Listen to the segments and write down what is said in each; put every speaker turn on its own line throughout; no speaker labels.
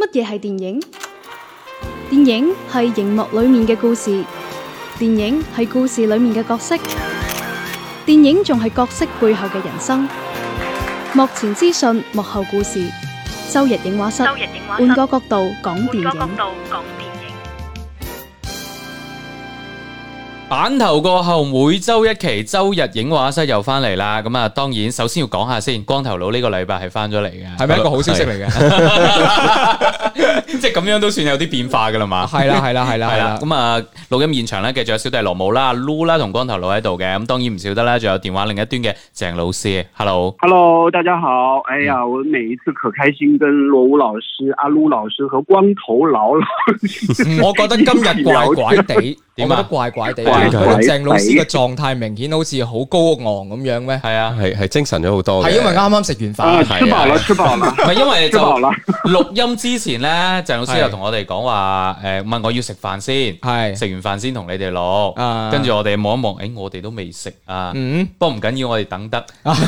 乜嘢係電影？電影係熒幕裏面嘅故事，電影係故事裏面嘅角色，電影仲係角色背後嘅人生。幕前資訊，幕後故事。周日映畫室，換個角度講電影。
版頭過後，每周一期周日映畫室又翻嚟啦。咁啊，當然首先要講下先，光頭佬呢個禮拜係翻咗嚟嘅，
係咪一個好消息嚟嘅？
即係咁樣都算有啲變化噶啦嘛。
係啦。
咁啊，錄音現場咧，繼續有小弟羅姆啦、Lu 啦同光頭佬喺度嘅。咁當然唔少得啦，仲有電話另一端嘅鄭老師。
Hello， 大家好。哎呀，我每一次可開心，跟羅武老師、阿 Lu 老師和光頭佬老師。
我覺得今日怪怪地，我覺得怪怪地。鄭老師嘅狀態明顯好似好高昂咁樣咩？
係啊，
係精神咗好多。
係因為啱啱食完飯，
吃飽啦。
唔係因為就錄音之前咧，鄭老師又同我哋講話，問我要食飯先，係食完飯先同你哋錄。跟住我哋望一望，我哋都未食啊。不過唔緊要，我哋等得。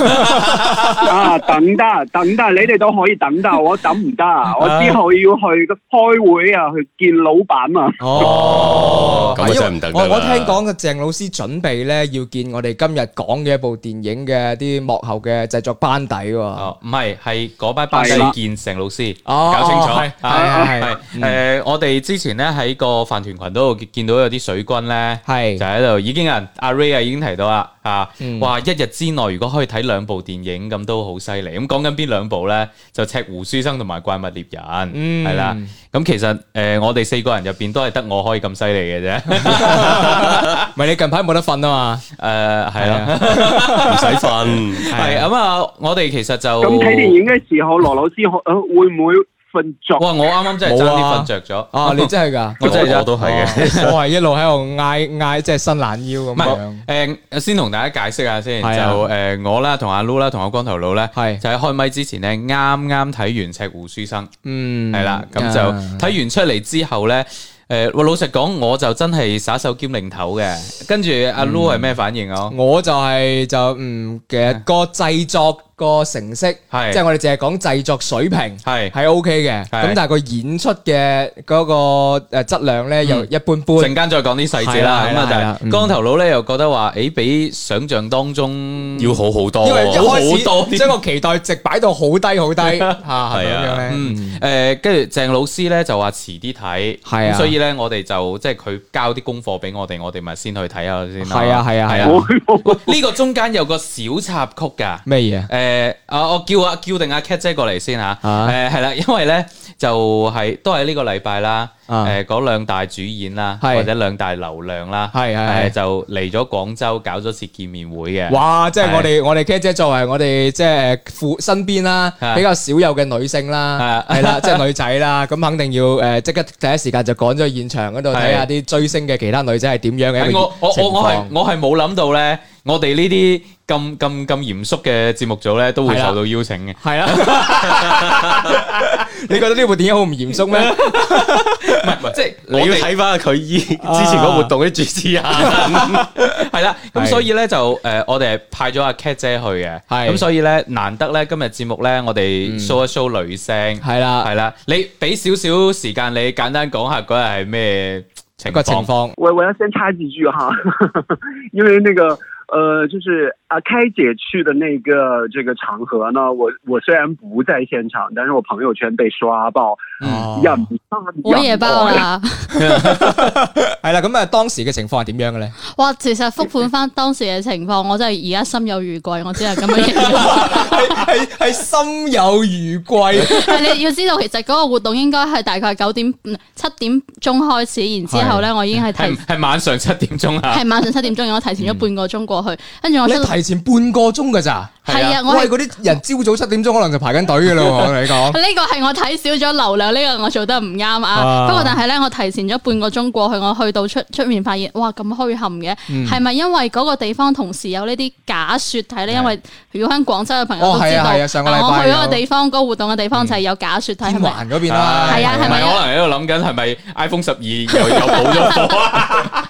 等得，你哋都可以等得，我等唔得。我之後要去開會啊，去見老闆啊。
哦，咁真係唔得。
我聽講嘅鄭老師準備咧要見我哋今日講嘅一部電影嘅啲幕後嘅製作班底喎。
唔係嗰班班底見鄭老師，搞清楚。係我哋之前咧喺個飯團群嗰度見到有啲水軍咧，就喺度已經有人阿 Ray 已經提到啦，話一日之內如果可以睇兩部電影咁都好犀利。咁講緊邊兩部咧？就《赤狐書生》同埋《怪物獵人》，係啦。咁其實我哋四個人入邊都係得我可以咁犀利嘅啫。
唔係你近排冇得瞓啊嘛？
係啦，
唔使瞓。
係咁啊！我哋其實就
咁睇電影嘅時候，羅老師會唔會瞓着？
哇！我啱啱真係爭啲瞓着咗。
啊！你真係㗎？
我都係嘅。
我係一路喺度嗌，即係伸懶腰咁樣。
先同大家解釋下先，就我啦，同阿 Lu 啦，同阿光頭佬咧，就喺開咪之前咧，啱啱睇完《赤狐書生》，係啦，咁就睇完出嚟之後咧。老實講，我就真係耍手兼擰頭嘅。跟住阿 Lu 係咩反應啊？
我就其實個製作個成色，即係我哋淨係講製作水平係 OK 嘅。咁但係個演出嘅嗰個質量咧又一般般。陣
間再講啲細節啦。咁啊，就係光頭佬咧又覺得話，比想象當中要好好多，
因為一開始將個期待值擺到好低好低嚇，係咁樣。
跟住鄭老師咧就話遲啲睇，咁所以咧我哋就即係佢交啲功課俾我哋咪先去睇下先啦。係啊。呢個中間有個小插曲㗎。咩嘢？我叫定阿 Cat 姐過嚟先嚇。係啦，因為咧就都係呢個禮拜啦。嗰兩大主演啦，或者兩大流量啦，就嚟咗廣州搞咗次見面會嘅。哇！
即係我哋 Cat 姐作為我哋即係身邊啦，比較少有嘅女性啦，係啦，即係女仔啦，咁肯定要即刻第一時間就趕咗去現場嗰度睇下啲追星嘅其他女仔係點樣嘅一個情況。
我係冇諗到咧，我哋呢啲咁嚴肅嘅節目組咧，都會受到邀請嘅。係啊，
你覺得呢部電影好唔嚴肅咩？
唔係，即係
你要睇翻佢之前個活動啲主持人。
係啦，咁所以咧就我哋係派咗阿 Cat 姐去嘅。咁所以咧難得咧今日節目咧，我哋 show 一 show 女聲。係啦，你俾少少時間你簡單講下嗰日係咩情況？
我要先插幾句哈，因為那個。就是開姐去的那個這個場合呢，我雖然不在現場，但是我朋友圈被刷爆，
我也爆啦。
係啦，咁當時嘅情況係點樣嘅咧？
哇，其實復盤翻當時嘅情況，我真係而家心有餘悸，我只係咁樣形容。
係心有餘悸。
係你要知道，其實嗰個活動應該係大概7點鐘開始，然之後咧我已經
係晚上7點鐘啊。
係晚上7點鐘，我提前咗半個鐘過去，跟住我
提前半個鐘㗎咋？係啊，我係嗰啲人朝早7點鐘可能就排緊隊㗎啦。我同你講，
呢個係我睇少咗流量，呢個我做得唔啱啊。不過但係咧，我提前咗半個鐘過去，我去到出面發現，哇咁墟冚嘅，係咪因為嗰個地方同時有呢啲假雪睇咧？因為如果喺廣州嘅朋友都知道，我去嗰個地方，嗰個活動嘅地方就係有假雪睇。
天環嗰邊啦，
係啊，係咪？
可能喺度諗緊係咪 iPhone 12又補咗貨啊？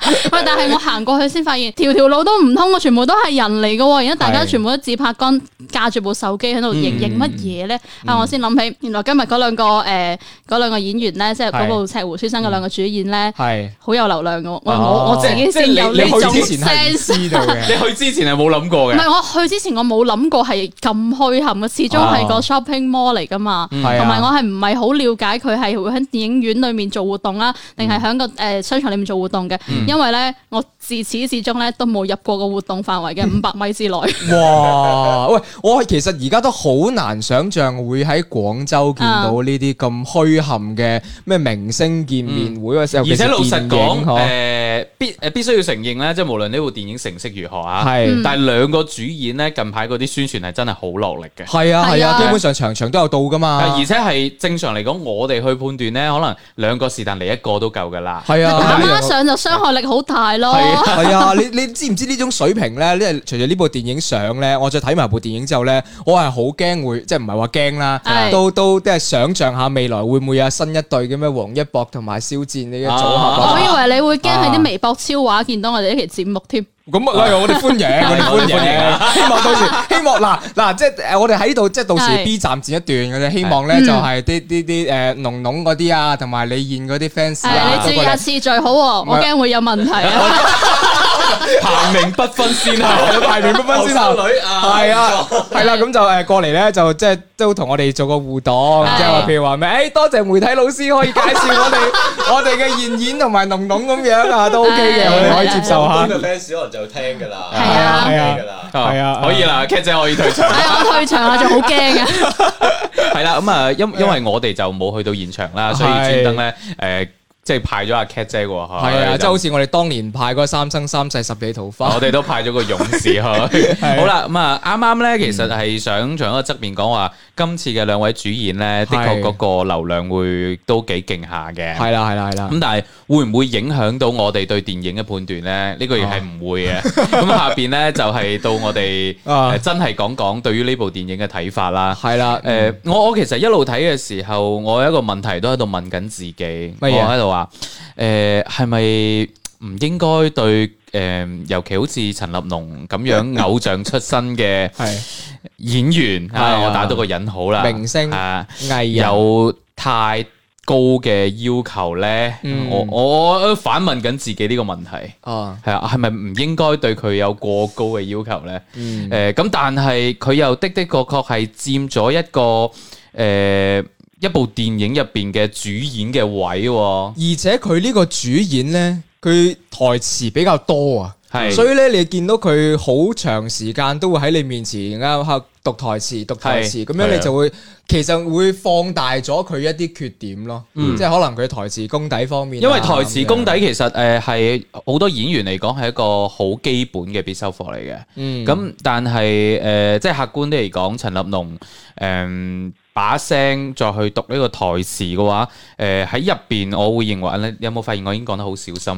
喂，但係我行過去先發現，條路都唔通，全部都係人嚟嘅，而家大家全部都自拍杆，架住部手機喺度影乜嘢咧？我先諗起，原來今日嗰兩個演員咧，即係嗰部《赤狐書生》嘅兩個主演咧，係好有流量嘅。我自己先有呢種 sense。
你去之前係冇諗過嘅？
唔係，我去之前我冇諗過係咁墟冚嘅，始終係個 shopping mall 嚟噶嘛。同埋我係唔係好了解佢係會喺電影院裏面做活動啦，定係喺個商場裏面做活動嘅？因為咧，我自始至終咧都冇入過個活動範圍嘅500米之內。
哇！喂，我其實而家都好難想像會喺廣州見到呢啲咁墟冚嘅咩明星見面會嘅時候。而
且老實講，必須要承認咧，即係無論呢部電影成色如何啊，但係兩個主演咧近排嗰啲宣傳係真係好落力嘅。
係啊，基本上場場都有到噶嘛。
而且係正常嚟講，我哋去判斷咧，可能兩個是但嚟一個都夠噶啦。
係啊，
打孖上就傷害力好大咯。
係啊，你知唔知呢種水平咧？因為隨住呢部電影上咧，我再睇埋部電影之後咧，我係好驚會，即係唔係話驚啦，都即係想像下未來會唔會有新一對嘅咩王一博同埋肖戰呢個組合。
我以為你會驚喺啲微博超話見到我哋呢期節目添。
咁我哋歡迎，我哋歡迎。希望到時，希望嗱，即係我哋喺度，即係到時 B 站剪一段嘅啫。希望咧就係啲濃濃嗰啲啊，同埋李現嗰啲 fans 啊。
你注意下次序好，我驚會有問題啊。
排名不分先後，
排名不分先後。係啊，係啦，咁就過嚟咧，就即係都同我哋做個互動，即係話譬如話咩？多謝媒體老師可以介紹我哋嘅現演同埋濃濃咁樣啊，都 OK 嘅，我哋可以接受下。
就聽噶啦，
係啊，
可以啦 ，Cat 姐可以退場。
我退場啦，仲好驚啊！
係啦，咁啊，因為我哋就冇去到現場啦，所以專登咧即係派咗阿 Cat 姐喎，
係啊，即係好似我哋當年派嗰三生三世十里桃花，
我哋都派咗個勇士去。好啦，咁啊，啱啱咧，其實係想從一個側面講話，今次嘅兩位主演咧，的確嗰個流量會都幾勁下嘅。
係啦。
咁但係會唔會影響到我哋對電影嘅判斷咧？呢個亦係唔會嘅。咁下邊咧就係到我哋真係講對於呢部電影嘅睇法啦。
係啦，
我其實一路睇嘅時候，我有一個問題都喺度問緊自己，我喺度話係咪唔應該對尤其好似陳立農咁樣偶像出身嘅演員我打到個引號啦，
明星藝人
有太高嘅要求咧？我反問緊自己呢個問題，係啊，係咪唔應該對佢有過高嘅要求咧？咁但係佢又的確係佔咗一個一部電影入邊嘅主演嘅位，
而且佢呢個主演呢，佢台詞比較多啊，
係，
所以咧你見到佢好長時間都會喺你面前啱讀台詞，咁樣你就會其實會放大咗佢一啲缺點咯，即係可能佢台詞功底方面，
因為台詞功底其實係好多演員嚟講係一個好基本嘅必修課嚟嘅，咁但係即係客觀啲嚟講，陳立農把聲再去讀呢個台詞嘅話，喺入邊我會認為你有冇發現我已經講得好小心？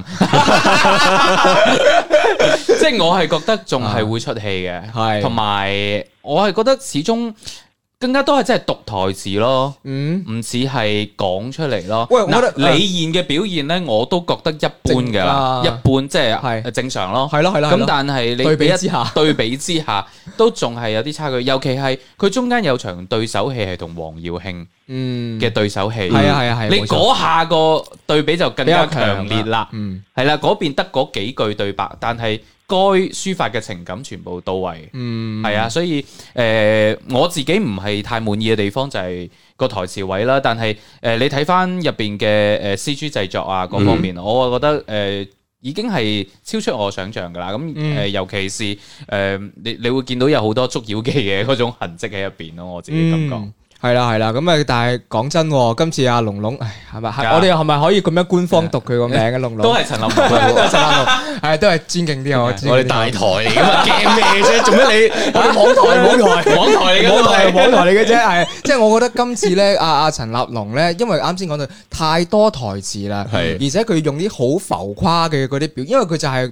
即係我係覺得仲係會出戲嘅，同埋我係覺得始終更加多係真係讀台詞咯，唔似係講出嚟咯。
喂，我覺得
李現嘅表現咧，我都覺得一般㗎啦，一般即係正常咯。
係咯。
咁但係你對比之下，都仲係有啲差距。尤其係佢中間有場對手戲係同黃耀慶嘅對手戲，
係啊，
你嗰下個對比就更加強烈啦。係啦，嗰邊得嗰幾句對白，但係該抒發嘅情感全部到位，係啊，所以我自己唔係太滿意嘅地方就係個台詞位啦，但係你睇翻入邊嘅CG 製作啊各方面，我覺得已經係超出我想象噶啦，咁尤其是你會見到有好多捉妖記嘅嗰種痕跡喺入邊咯，我自己感覺。
係啦，咁啊，但係講真，今次阿龍龍，係咪？我哋係咪可以咁樣官方讀佢個名嘅龍龍？
都係陳立農，
係都係尊敬啲，我
哋大台嚟噶嘛，驚咩啫？做咩你？我哋網台嚟嘅啫，
係即係我覺得今次咧，阿陳立農咧，因為啱先講到太多台詞啦，而且佢用啲好浮誇嘅嗰啲表，因為佢就係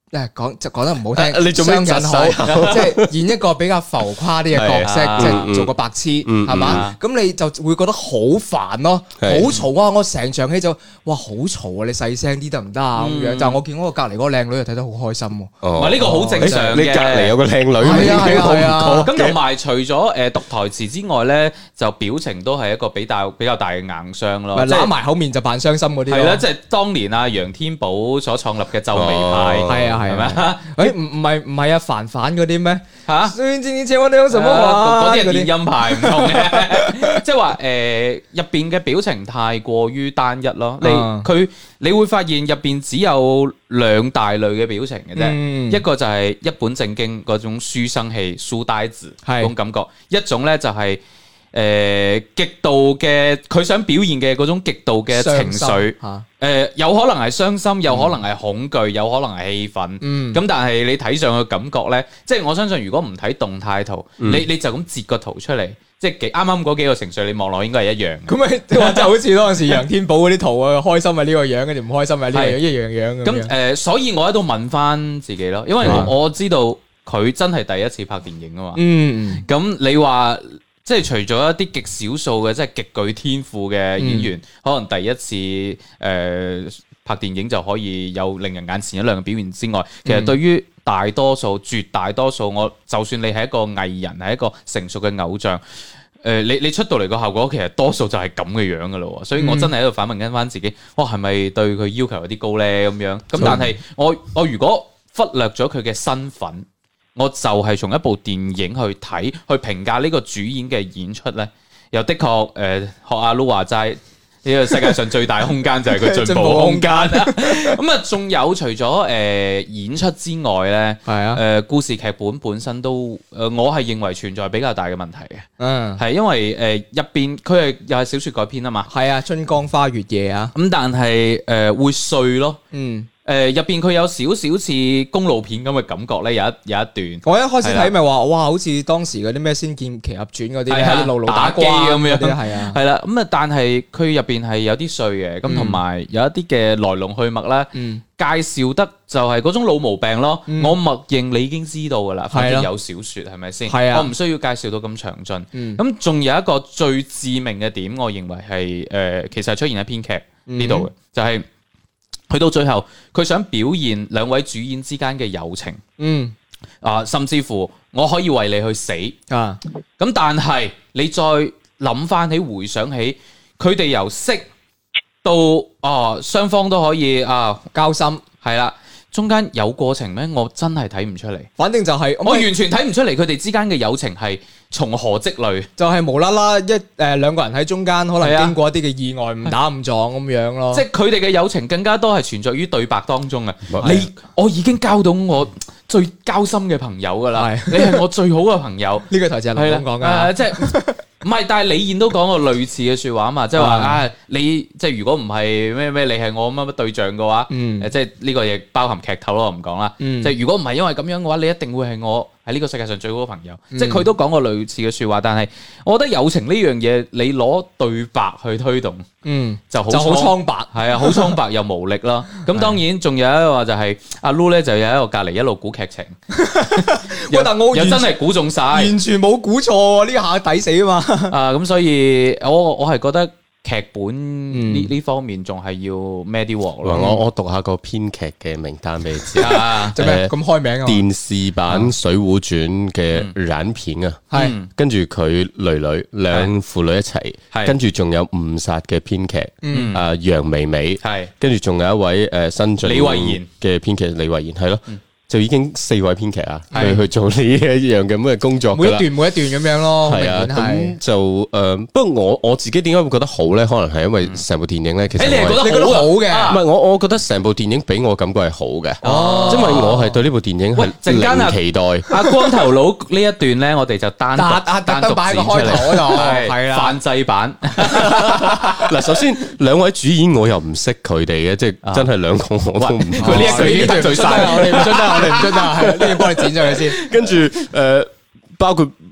講得唔好聽，
你做咩窒晒？
即係演一個比較浮誇啲嘅角色，即係做個白痴，係嘛？咁你就會覺得好煩咯，好嘈啊！我成場戲就哇好嘈啊！你細聲啲得唔得啊？咁樣，但係我見我隔離嗰個靚女就睇得好開心喎。
唔係呢個好正常嘅，
你隔離有個靚女，
係啊。
咁同埋除咗讀台詞之外咧，就表情都係一個比較大嘅硬傷咯。
揦埋口面就扮傷心嗰啲。
係啦，即係當年啊楊天寶所創立嘅皺眉派。係咪啊？
唔係啊，凡嗰啲咩
嚇？
算之前我哋有什麼話？
嗰啲係電音派唔同嘅，即係話入邊嘅表情太過於單一咯。你會發現入邊只有兩大類嘅表情嘅啫，一個就係一本正經嗰種書生氣、書呆子嗰種感覺，一種咧就係極度嘅佢想表現嘅嗰種極度嘅情緒。有可能係傷心，有可能係恐懼，有可能係氣憤。咁但係你睇上嘅感覺咧，即係我相信如果唔睇動態圖，你就咁截個圖出嚟，即係啱啱嗰幾個情緒，你望落應該係一樣。咁
咪即係好似當時楊天寶嗰啲圖啊，開心係呢個樣，跟住唔開心係呢個樣，一樣咁。
咁所以我喺度問翻自己咯，因為我知道佢真係第一次拍電影啊嘛。咁你話？即係除咗一啲極少數嘅，即係極具天賦嘅演員，可能第一次拍電影就可以有令人眼前一亮嘅表現之外，其實對於大多數、絕大多數，就算你係一個藝人，係一個成熟嘅偶像，你出到嚟個效果，其實多數就係咁嘅樣噶咯。所以我真係喺度反問緊翻自己，哇，係咪對佢要求有啲高咧？咁樣咁，但係我如果忽略咗佢嘅身份。我就係從一部電影去睇，去評價呢個主演嘅演出咧，又的確學阿 Lu 話齋，呢個世界上最大空間就係佢進步空間。咁啊，仲有除咗演出之外咧，故事劇本身都我係認為存在比較大嘅問題嘅。係因為入邊佢係又係小説改編啊嘛。係啊，春江花月夜啊。咁但係會碎咯。入邊佢有少少似公路片咁嘅感覺咧，有一段。我一開始睇咪話，哇，好似當時嗰啲咩《仙劍奇俠傳》嗰啲，路打機咁樣。係啊，係啦。咁啊，但係佢入邊係有啲碎嘅，咁同埋有一啲嘅來龍去脈咧，介紹得就係嗰種老毛病咯。我默認你已經知道噶啦，反正有小説係咪先？我唔需要介紹到咁詳盡。咁仲有一個最致命嘅點，我認為係其實係出現喺編劇呢度嘅，就係。去到最後，佢想表現兩位主演之間嘅友情，甚至乎我可以為你去死，咁但係你再諗翻起、回想起，佢哋由識到雙方都可以交心，係啦。中間有過程咩？我真係睇唔出嚟。反正就係我完全睇唔出嚟，佢哋之間嘅友情係從何積累，就係無啦啦兩個人喺中間，可能經過一啲嘅意外，誤打誤撞咁樣咯。即係佢哋嘅友情更加多係存在於對白當中啊！我已經交到我最交心嘅朋友噶啦，你係我最好嘅朋友。呢個台詞係林峰講噶，即係。唔係，但係李燕都講過類似嘅説話啊嘛，即係話你即係如果唔係咩，你係我乜對象嘅話，即係呢個亦包含劇透咯，我唔講啦。即係如果唔係因為咁樣嘅話，你一定會係我喺呢個世界上最好嘅朋友。即係佢都講過類似嘅説話，但係我覺得友情呢樣嘢，你攞對白去推動，就好蒼白，係啊，好蒼白又無力咯。咁當然仲有一個話就係阿 Lu 咧，就有一個隔離一路估劇情，但我又真係估中晒，完全冇估錯，呢下抵死啊嘛！咁所以我係覺得劇本呢方面仲係要孭啲鑊咯。
我讀下個編劇嘅名單俾你知
做咩咁開名啊？
電視版《水滸傳》嘅染片啊，係跟住佢女兩父女一齊，跟住仲有誤殺嘅編劇，楊薇薇，係跟住仲有一位新晉李慧賢嘅編劇李慧賢，係咯。就已經4位編劇啊，去做呢一樣嘅咁嘅工作㗎啦。每一段咁樣咯。係啊，咁就不過我自己點解會覺得好咧？可能係因為成部電影咧，其實你係覺得好嘅。唔係我覺得成部電影俾我感覺係好嘅。因為我係對呢部電影係零期待。阿光頭佬呢一段咧，我哋就單獨擺個開頭度，係啦，泛製版。嗱，首先兩位主演我又唔識佢哋嘅，即係真係兩個我都唔。佢呢一句已經得罪晒，我哋唔出得。我哋唔出得，係呢個幫你剪咗佢先。跟住包括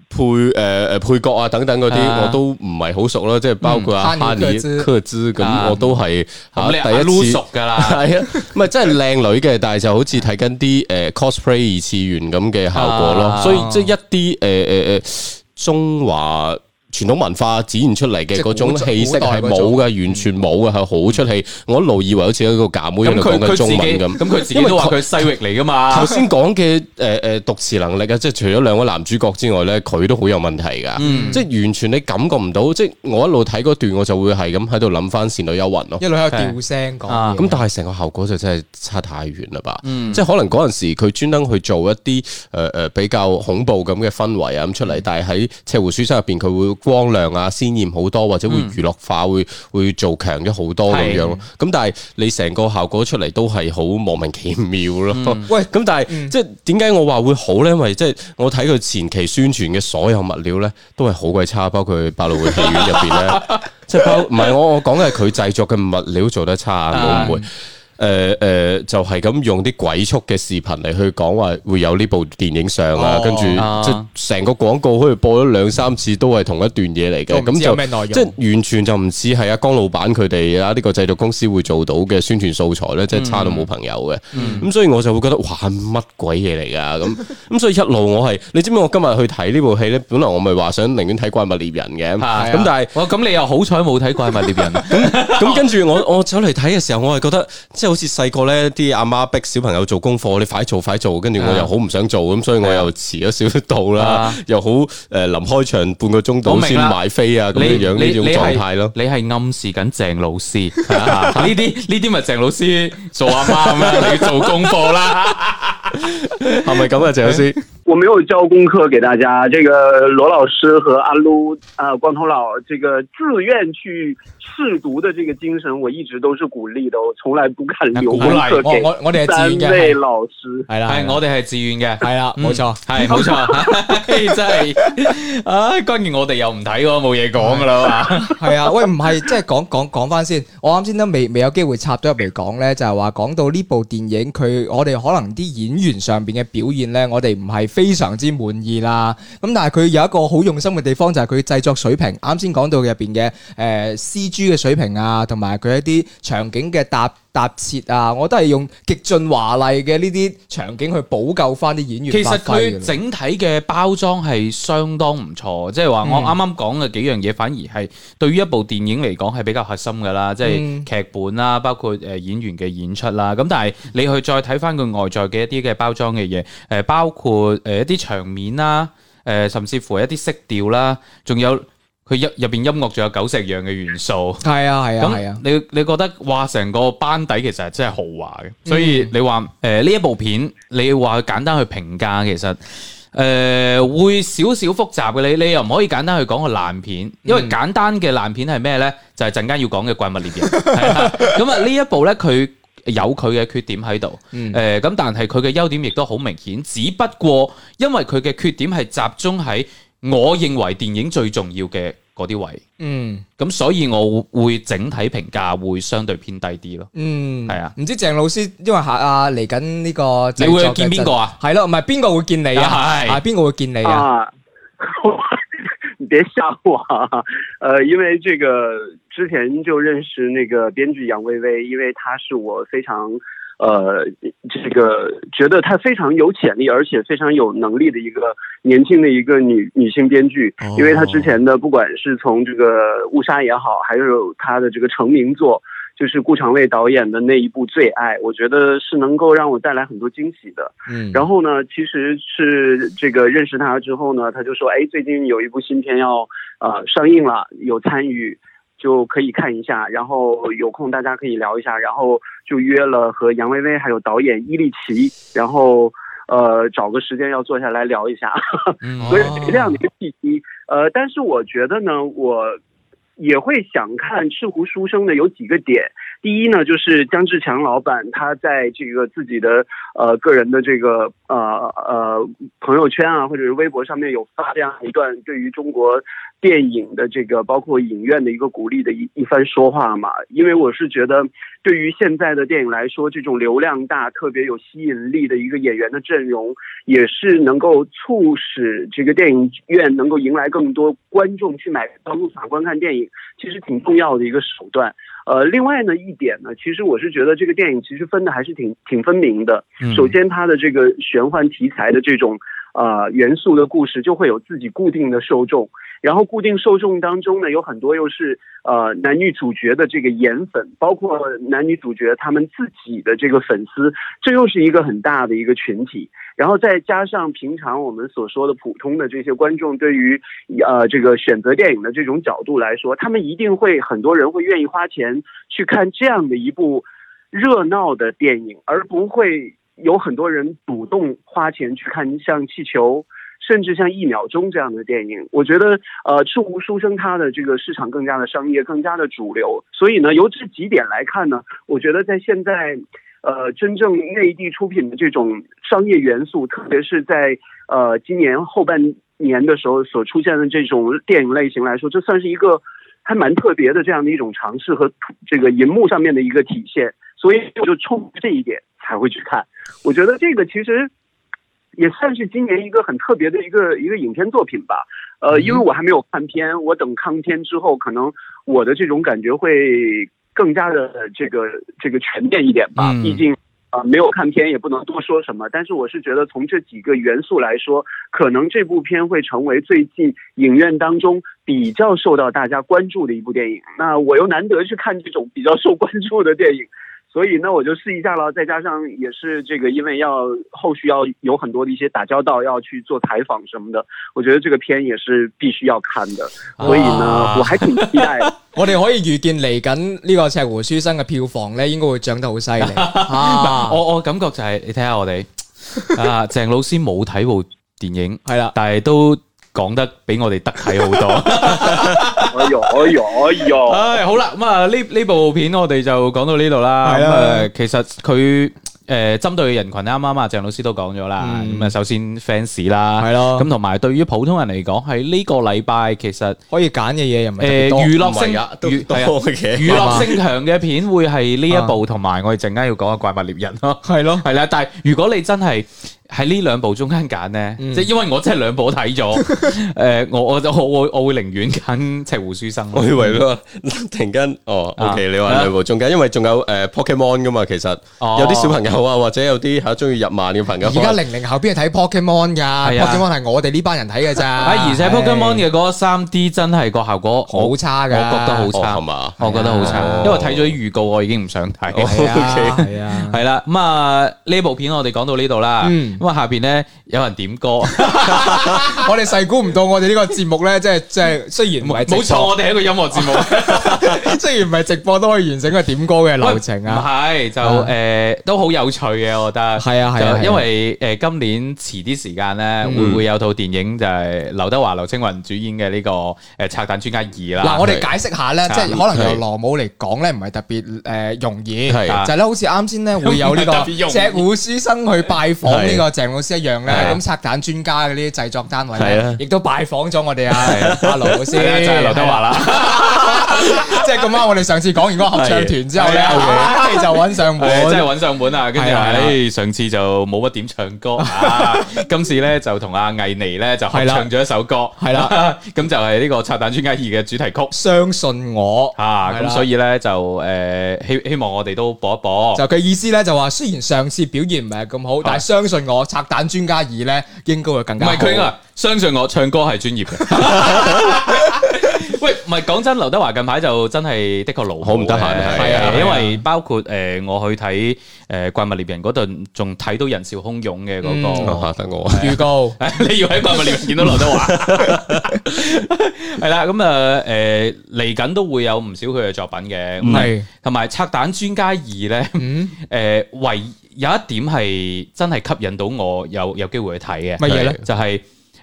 配角啊等等嗰啲我都唔係好熟啦，即係包括阿哈尼克茲咁，我都係第一次
熟噶啦，
係啊，唔係真係靚女嘅，但係就好似睇緊啲cosplay 二次元咁嘅效果咯，所以即係一啲中華傳統文化展現出嚟嘅嗰種氣息係冇嘅，完全冇嘅，係好出戲。我一路以為好似一個假妹喺度講緊中文咁。
咁佢自己都話佢西域嚟噶嘛？
頭先講嘅讀詞能力啊，即係除咗兩位男主角之外咧，佢都好有問題噶。即係完全你感覺唔到。即係我一路睇嗰段，我就會係咁喺度諗翻《倩女幽魂》咯。
一路喺度調聲講。
咁但係成個效果就真係差太遠啦吧？即係可能嗰陣時佢專登去做一啲比較恐怖咁嘅氛圍啊咁出嚟，但係喺赤狐書生入邊佢會光亮啊鮮豔好多，或者會娛樂化，會做強咗好多咁樣咯。咁但係你成個效果出嚟都係好莫名其妙咯。喂，咁但係即係點解我話會好咧？因為即係我睇佢前期宣傳嘅所有物料咧，都係好鬼差，包括百老匯戲院入邊咧，即係唔係我講嘅係佢製作嘅物料做得差，冇誤會。就係咁用啲鬼畜嘅視頻嚟去講話會有呢部電影上啊，跟住即係成個廣告好似播咗2-3次都係同一段嘢嚟嘅，咁就即係完全就唔似係阿江老闆佢哋啊呢個製作公司會做到嘅宣傳素材咧，即係差到冇朋友嘅。咁所以我就會覺得哇乜鬼嘢嚟㗎咁所以一路我係你知唔知我今日去睇呢部戲咧？本來我咪話想寧願睇怪物獵人嘅，咁但係
咁你又好彩冇睇怪物獵人，
咁跟住我走嚟睇嘅時候，我係覺得即係好似細個咧，啲阿媽逼小朋友做功課，你快做，跟住我又好唔想做，咁所以我又遲咗少少到啦，又好臨開場半個鐘到先買飛啊，咁樣呢種狀態咯。
你係暗示緊鄭老師，呢啲咪鄭老師做阿媽咁樣，你做功課啦，
係咪咁啊，鄭老師？
我沒有交功課給大家，這個羅老師和阿盧光頭佬，這個自願去試讀的這個精神，我一直都是鼓勵的，我從來不敢留功課給
我哋係自願嘅，
三位老師
係啦，
係我哋係自願嘅，
係啦，冇錯，
係冇錯，真係，關鍵我哋又唔睇喎，冇嘢講噶啦嘛，
係啊，喂，唔係，即係講翻先，我啱先都未有機會插咗入嚟講咧，就係話講到呢部電影，我哋可能啲演員上邊嘅表現咧，我哋唔係非常之滿意啦，咁但係佢有一個好用心嘅地方，就係佢製作水平，啱先講到入邊嘅CG 嘅水平啊，同埋佢一啲場景嘅搭設啊，我都係用極盡華麗嘅呢啲場景去補救翻啲演員。
其實佢整體嘅包裝係相當唔錯，即係話我啱啱講嘅幾樣嘢，反而係對於一部電影嚟講係比較核心噶啦，即係劇本啦，包括演員嘅演出啦。咁但係你去再睇翻佢外在嘅一啲嘅包裝嘅嘢，包括一啲場面啦，甚至乎一啲色調啦，仲有。佢入邊音樂仲有久石讓嘅元素，
係啊，
咁你覺得哇，成個班底其實係真係豪華嘅，所以你話呢一部片，你話簡單去評價，其實會少少複雜嘅，你又唔可以簡單去講個爛片，因為簡單嘅爛片係咩咧？就係陣間要講嘅怪物獵人，咁啊呢一部咧佢有佢嘅缺點喺度，咁但係佢嘅優點亦都好明顯，只不過因為佢嘅缺點係集中喺我認為電影最重要嘅嗰啲位，咁所以我會整體評價會相對偏低啲咯。係啊，
唔知鄭老師因為嚟緊呢個，
你會見邊個啊？
係咯，唔係邊個會見你啊？係邊個會見你啊？
你別嚇我因為這個之前就認識那個編劇楊薇薇，因為她是我非常這個覺得她非常有潛力，而且非常有能力的一個年輕的一個女性編劇，因為她之前的不管是從這個誤殺也好，還有她的這個成名作，就是顧長衛導演的那一部《最愛》，我覺得是能夠讓我帶來很多驚喜的。然後呢，其實是這個認識她之後呢，她就說，最近有一部新片要上映了，有參與。就可以看一下，然後有空大家可以聊一下，然後就約了和楊薇薇還有導演伊利奇，然後找個時間要坐下來聊一下，所以這樣的一個契機。但是我覺得呢，我也會想看《赤狐書生》的有幾個點。 第一呢，就是姜志强老板他在这个自己的个人的这个朋友圈啊，或者是微博上面有发这样一段对于中国电影的这个包括影院的一个鼓励的一番说话嘛。因为我是觉得对于现在的电影来说，这种流量大特别有吸引力的一个演员的阵容，也是能够促使这个电影院能够迎来更多观众去买票入场观看电影，其实挺重要的一个手段。另外呢一点呢，其实我是觉得这个电影其实分的还是挺分明的。首先它的这个玄幻题材的这种元素的故事就会有自己固定的受众，然后固定受众当中呢，有很多又是男女主角的这个颜粉，包括男女主角他们自己的这个粉丝，这又是一个很大的一个群体。然后再加上平常我们所说的普通的这些观众对于这个选择电影的这种角度来说，他们一定会很多人会愿意花钱去看这样的一部热闹的电影，而不会有很多人主动花钱去看像气球甚至像1秒钟这样的电影。我觉得赤狐书生它的这个市场更加的商业，更加的主流。所以呢，由这几点来看呢，我觉得在现在真正内地出品的这种商业元素，特别是在今年后半年的时候所出现的这种电影类型来说，这算是一个还蛮特别的这样的一种尝试和这个银幕上面的一个体现。所以我就冲这一点才会去看。我觉得这个其实也算是今年一个很特别的一个影片作品吧。因为我还没有看片，我等看片之后，可能我的这种感觉会更加的这个全面一点吧。毕竟没有看片也不能多说什么，但是我是觉得从这几个元素来说，可能这部片会成为最近影院当中比较受到大家关注的一部电影。那我又难得去看这种比较受关注的电影，所以呢我就试一下了。再加上也是这个因为后续要有很多的一些打交道，要去做采访什么的，我觉得这个片也是必须要看的。所以呢我还挺期待的。
我哋可以預見嚟緊呢個赤狐書生嘅票房咧，應該會漲得好犀利。
我感覺就係你睇下我哋鄭老師冇睇部電影，
係啦，
但係都講得比我哋得體好多。唉，好啦，咁啊呢部片我哋就講到呢度啦。咁其實佢針對嘅人群啱啱鄭老師都講咗啦。咁首先 fans 啦，
係咯。
咁同埋對於普通人嚟講，喺呢個禮拜其實
可以揀嘅嘢又唔係特別多，
娛樂性強嘅片會係呢一部，同埋我哋陣間要講嘅怪物獵人咯。
係咯，
係啦。但係如果你真係喺呢兩部中間揀咧，即係因為我真係兩部都睇咗，我會寧願揀赤狐書生。
我以為咯，突然間OK， 你話兩部中間，因為仲有Pokemon 噶嘛，其實有啲小朋友啊，或者有啲係中意日漫嘅朋友。
而家00後邊係睇 Pokemon 㗎，Pokemon 係我哋呢班人睇嘅咋。
而且 Pokemon 嘅嗰個3D 真係個效果
好差㗎，
我覺得好差，我覺得好差，因為睇咗啲預告，我已經唔想睇。係啦，咁啊呢部片我哋講到呢度啦。咁啊，下邊咧有人點歌，
我哋細估唔到我哋呢個節目咧，即係雖然唔係
冇錯，我哋係一個音樂節目，
雖然唔係直播都可以完成個點歌嘅流程啊。
唔係就都好有趣嘅，我覺得
係啊，
因為今年遲啲時間咧會有套電影就係劉德華、劉青雲主演嘅呢個拆彈專家2啦。
嗱，我哋解釋下咧，即係可能由羅姆嚟講咧，唔係特別容易，就係咧好似啱先咧會有呢個赤狐書生去拜訪呢個鄭老師一樣咧，咁拆彈專家嗰啲製作單位咧，亦都拜訪咗我哋阿羅老師，就
係劉德華啦。
即係咁啱，我哋上次講完嗰個合唱團之後咧，就揾上門，
真係揾上門啊！跟住上次就冇乜點唱歌，今次咧就同阿倪妮咧就合唱咗一首歌，
係啦，
咁就係呢個拆彈專家2嘅主題曲《
相信我》
咁所以咧就希望我哋都播一播。
就佢意思咧就話，雖然上次表現唔係咁好，但係相信我，拆彈專家2咧應該會更加好。
唔係佢啊，相信我，唱歌係專業嘅。喂，唔係講真，劉德華近排就真係的確勞好唔得閒，係因為包括我去睇怪物獵人嗰度，仲睇到人潮洶湧嘅嗰個
嚇得我
預告，
你要喺怪物獵人見到劉德華，係啦，咁嚟緊都會有唔少佢嘅作品嘅，係同埋拆彈專家2咧，唯有一點係真係吸引到我有機會去睇嘅，
乜嘢咧？
就係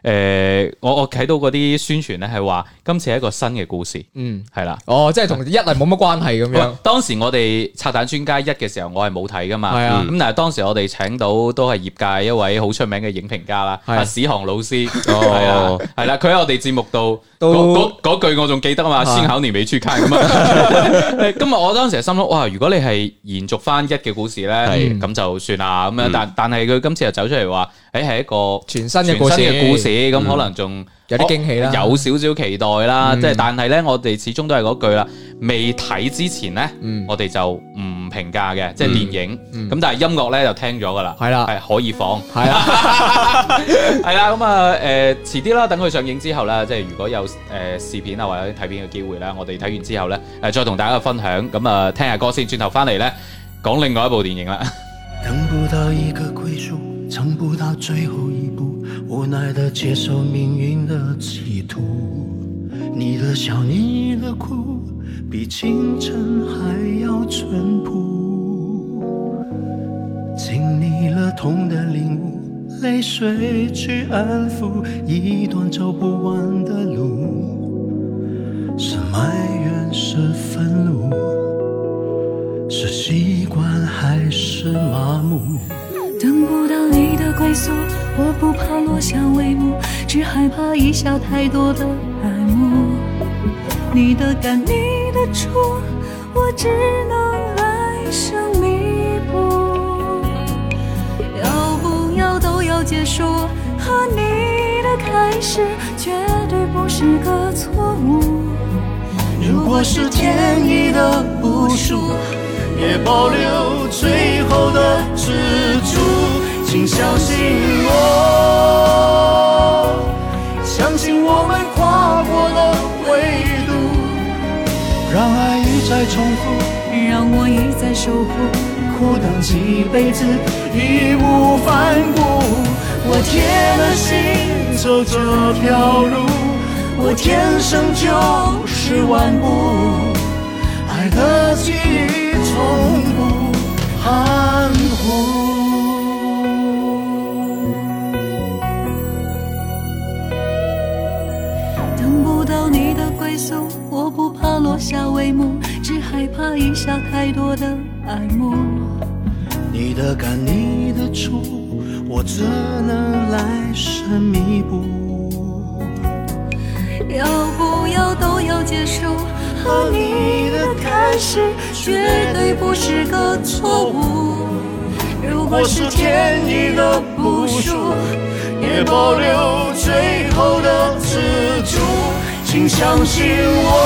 我睇到嗰啲宣傳咧係話今次係一個新嘅故事，係啦，
即係同一係冇乜關係咁樣。
當時我哋拆彈專家1嘅時候，我係冇睇噶嘛，咁但係當時我哋請到都係業界一位好出名嘅影評家啦，史航老師，係啦，佢喺我哋節目度嗰句我仲記得啊嘛，先考年尾出卡咁啊。今日我當時係心諗，哇！如果你係延續翻1嘅故事咧，咁就算啦咁樣。但係佢今次又走出嚟話，係一個
全新嘅故事，
咁可能仲
有啲驚喜啦，
有少少期待啦。即係但係咧，我哋始終都係嗰句啦，未睇之前咧，我哋就唔評價嘅，即係電影。咁但係音樂咧就聽咗噶啦，係啦，係可以放，係啦，係啦。咁啊，遲啲啦，等佢上映之後咧，即係如果有試片啊或者睇片嘅機會咧，我哋睇完之後咧，再同大家分享。咁啊，聽下歌先，轉頭翻嚟咧，講另外一部電影啦。
等不到一個歸宿，撐不到最後一步，無奈地接受命運的企圖。你的笑，你的哭，比清晨還要淳樸。經歷了痛的領悟，淚水去安撫一段走不完的路。是埋怨，是憤怒，是習慣還是麻木？
等不到你的歸宿，我不怕落下帷幕，只害怕遺下太多的愛慕。你的感，你的觸，我只能來生彌補。要不要都要結束，和你的開始絕對不是個錯誤。
如果是天意的部署，也保留最後的支柱。請相信我，相信我們跨過了維度，讓愛一再重複，
讓我一再守護，
苦等幾輩子義無反顧。我鐵了心走這條路，我天生就是頑固，愛的記憶從不含糊。
等不到你的歸宿，我不怕落下帷幕，只害怕遺下太多的愛慕。
你的感，你的觸，我只能來生彌補。
要不要都要結束，和你的開始絕對不是個錯誤。如果是天意的部署，
也保留最後的支柱。請相信我，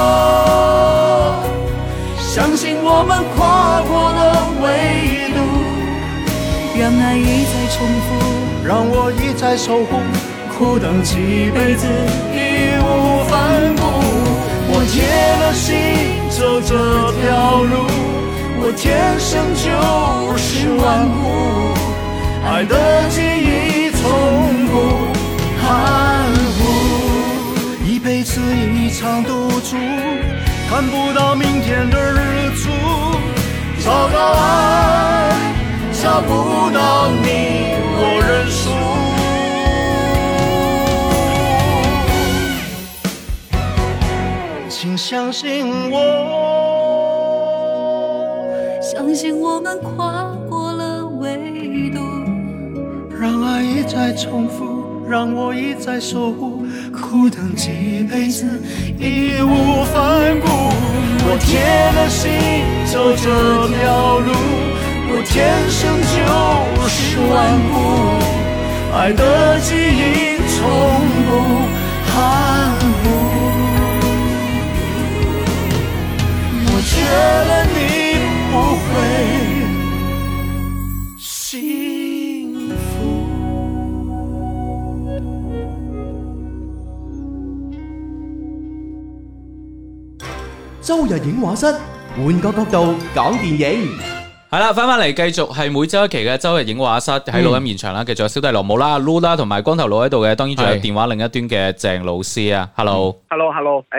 相信我們跨過了維度，
讓愛一再重複，
讓我一再守護，苦等幾輩子義無反顧。我鐵了心走這條路，我天生就是頑固，愛的記憶從不含糊，一輩子一場賭注，看不到明天的日出，找到愛，找不到你，我認輸。請相信我，
相信我們跨過了維度，
讓愛一再重複，讓我一再守護，苦等幾輩子義無反顧。我鐵了心走這條路，我天生就是頑固，愛的記憶從不含糊。覺得你不會幸福。
周日影畫室，換個角度講電影。
係啦，翻嚟繼續係每周一期嘅周日影畫室，喺錄音現場啦，繼續有小弟羅姆啦、Lu 啦同埋光頭佬喺度嘅，當然仲有電話另一端嘅鄭老師啊。Hello，
誒。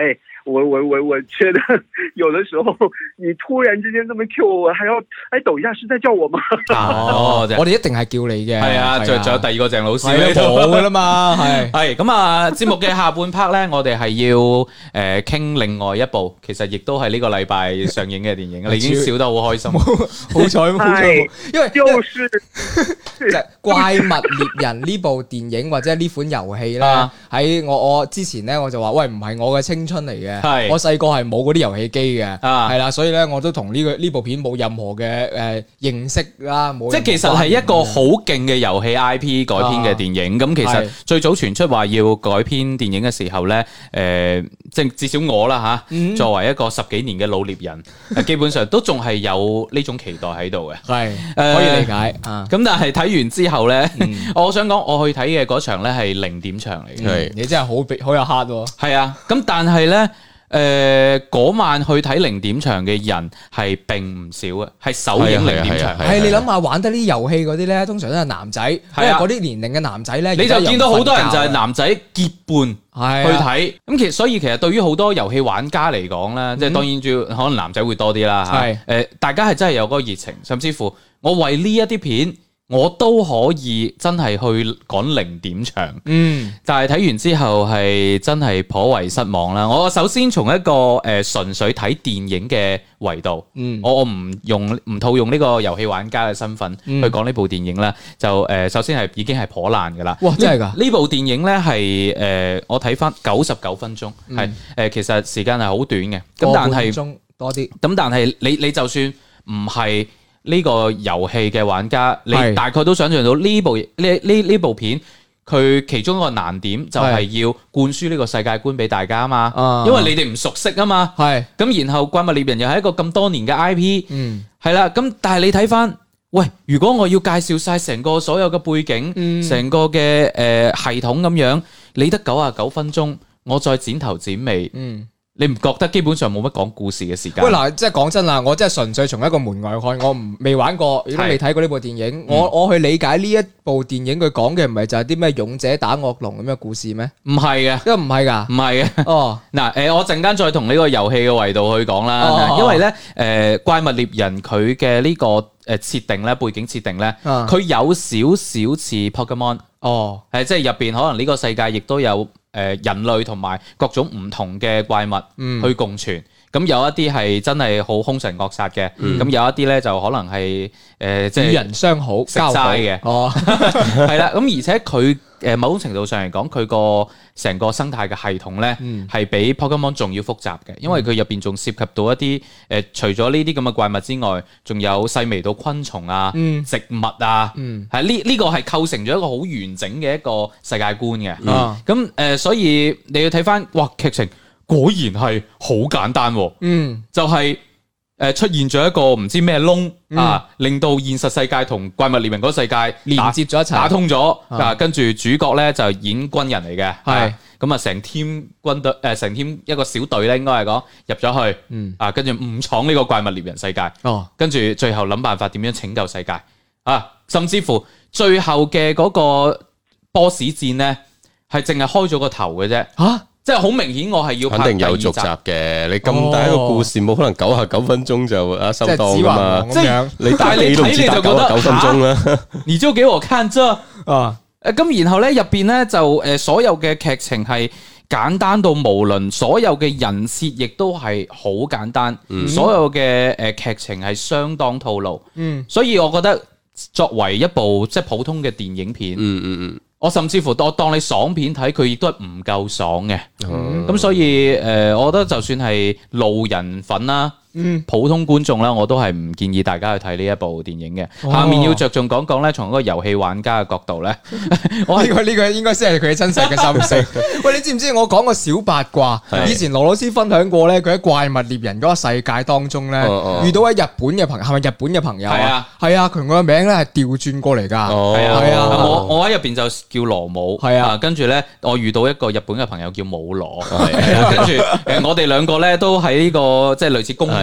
我觉得有的時候你突然之間這麼 Q 我，還要抖一下，是在叫我嗎？
我哋一定係叫你嘅。
係啊，仲有第二個鄭老師
冇噶啦嘛，
係咁啊！節目嘅下半 part 咧，我哋係要傾另外一部，其實亦都係呢個禮拜上映嘅電影。你已經笑得好開心，
好彩，因為
就是
怪物獵人呢部電影或者呢款遊戲咧，喺我之前咧我就話喂，唔係我嘅青春嚟嘅。我細個係冇嗰啲遊戲機嘅，係啦，所以咧我都同呢部片冇任何嘅認識啦，冇。
即係其實係一個好勁嘅遊戲 IP 改編嘅電影。咁其實最早傳出話要改編電影嘅時候咧，即係至少我啦嚇，作為一個10幾年嘅老獵人，基本上都仲係有呢種期待喺度嘅。
係可以理解。
咁但係睇完之後咧，我想講我去睇嘅嗰場咧係0點場嚟嘅。
你真係好有 heart 喎。
係啊，咁但係咧。嗰晚去睇0點場嘅人係並唔少嘅，係首映0點場。
係你諗下玩得啲遊戲嗰啲咧，通常都係男仔，因為嗰啲年齡嘅男仔咧，
你就見到好多人就係男仔結伴去睇。咁所以其實對於好多遊戲玩家嚟講咧，即係當然主要可能男仔會多啲啦嚇。大家係真係有嗰個熱情，甚至乎我為呢一啲片。我都可以真係去趕0點場，但係睇完之後係真係頗為失望啦。我首先從一個純粹睇電影嘅維度，我唔套用呢個遊戲玩家嘅身份去講呢部電影啦。就首先係已經係頗爛噶啦。
哇，真係㗎！
呢部電影咧係我睇翻99分鐘，係其實時間係好短嘅。咁但係
多啲。
咁但係你就算唔係呢個遊戲嘅玩家，你大概都想象到呢部片佢其中一個難點就係要灌輸呢個世界觀俾大家啊嘛，因為你哋唔熟悉啊嘛，咁然後怪物獵人又係一個咁多年嘅 IP，係啦，咁但係你睇翻，喂，如果我要介紹晒成個所有嘅背景，成個嘅系統咁樣，你得99分鐘，我再剪頭剪尾。你唔覺得基本上冇乜講故事嘅時間？
喂，嗱，即係講真啦，我真係純粹從一個門外看，我未玩過，亦都未睇過呢部電影。我去理解呢一部電影佢講嘅唔係就係啲咩勇者打惡龍咁嘅故事咩？
唔係嘅，
因為唔係㗎，
唔係嘅。
哦，
嗱，我陣間再同呢個遊戲嘅維度去講啦。因為咧，怪物獵人佢嘅呢個設定咧，背景設定咧，佢有少少似 Pokemon。
哦，
即係入邊可能呢個世界亦都有。人類同埋各種唔同嘅怪物去共存，咁有一啲係真係好兇神惡煞嘅，咁有一啲咧就可能係即係與
人相好、交
齋嘅，係啦。咁而且佢某種程度上嚟講，佢個成個生態嘅系統咧係比 Pokemon 仲要複雜嘅，因為佢入邊仲涉及到一啲除咗呢啲咁嘅怪物之外，仲有細微到昆蟲啊、植物啊，係呢個係構成咗一個好完整嘅一個世界觀嘅。咁所以你要睇翻，哇，劇情果然係好簡單，就係出現咗一個唔知咩窿啊，令到現實世界同怪物獵人嗰個世界
連接咗一齊，
打通咗啊。跟住主角咧就演軍人嚟嘅，係咁啊，成 team 軍隊成 team 一個小隊咧，應該係講入咗去，啊，跟住誤闖呢個怪物獵人世界，跟住最後諗辦法點樣拯救世界啊，甚至乎最後嘅嗰個 boss 戰咧係淨係開咗個頭嘅啫，即係好明顯，我係要拍
肯定有續集嘅。你咁大一個故事，冇可能99分鐘就收檔噶嘛？
即係
你睇你就覺得9分鐘啦。
你就給我看這啊！咁然後咧入邊咧就所有嘅劇情係簡單到無論，所有嘅人設亦都係好簡單，所有嘅劇情係相當套路。所以我覺得作為一部即係普通嘅電影片，我甚至乎我當你爽片睇，佢亦都係唔夠爽嘅。咁所以我覺得就算係路人粉啦，普通觀眾啦，我都係唔建議大家去睇呢一部電影嘅。下面要着重講講咧，從一個遊戲玩家嘅角度咧，
我呢個應該先係佢真實嘅心聲。喂，你知唔知我講個小八卦？以前羅老師分享過咧，佢喺怪物獵人嗰個世界當中咧，遇到喺日本嘅朋友，係咪日本嘅朋友啊？係啊，佢個名咧係調轉過嚟㗎。係啊，
我喺入邊就叫羅姆。係啊，跟住咧我遇到一個日本嘅朋友叫姆羅。跟住我哋兩個咧都喺呢個即係類似公園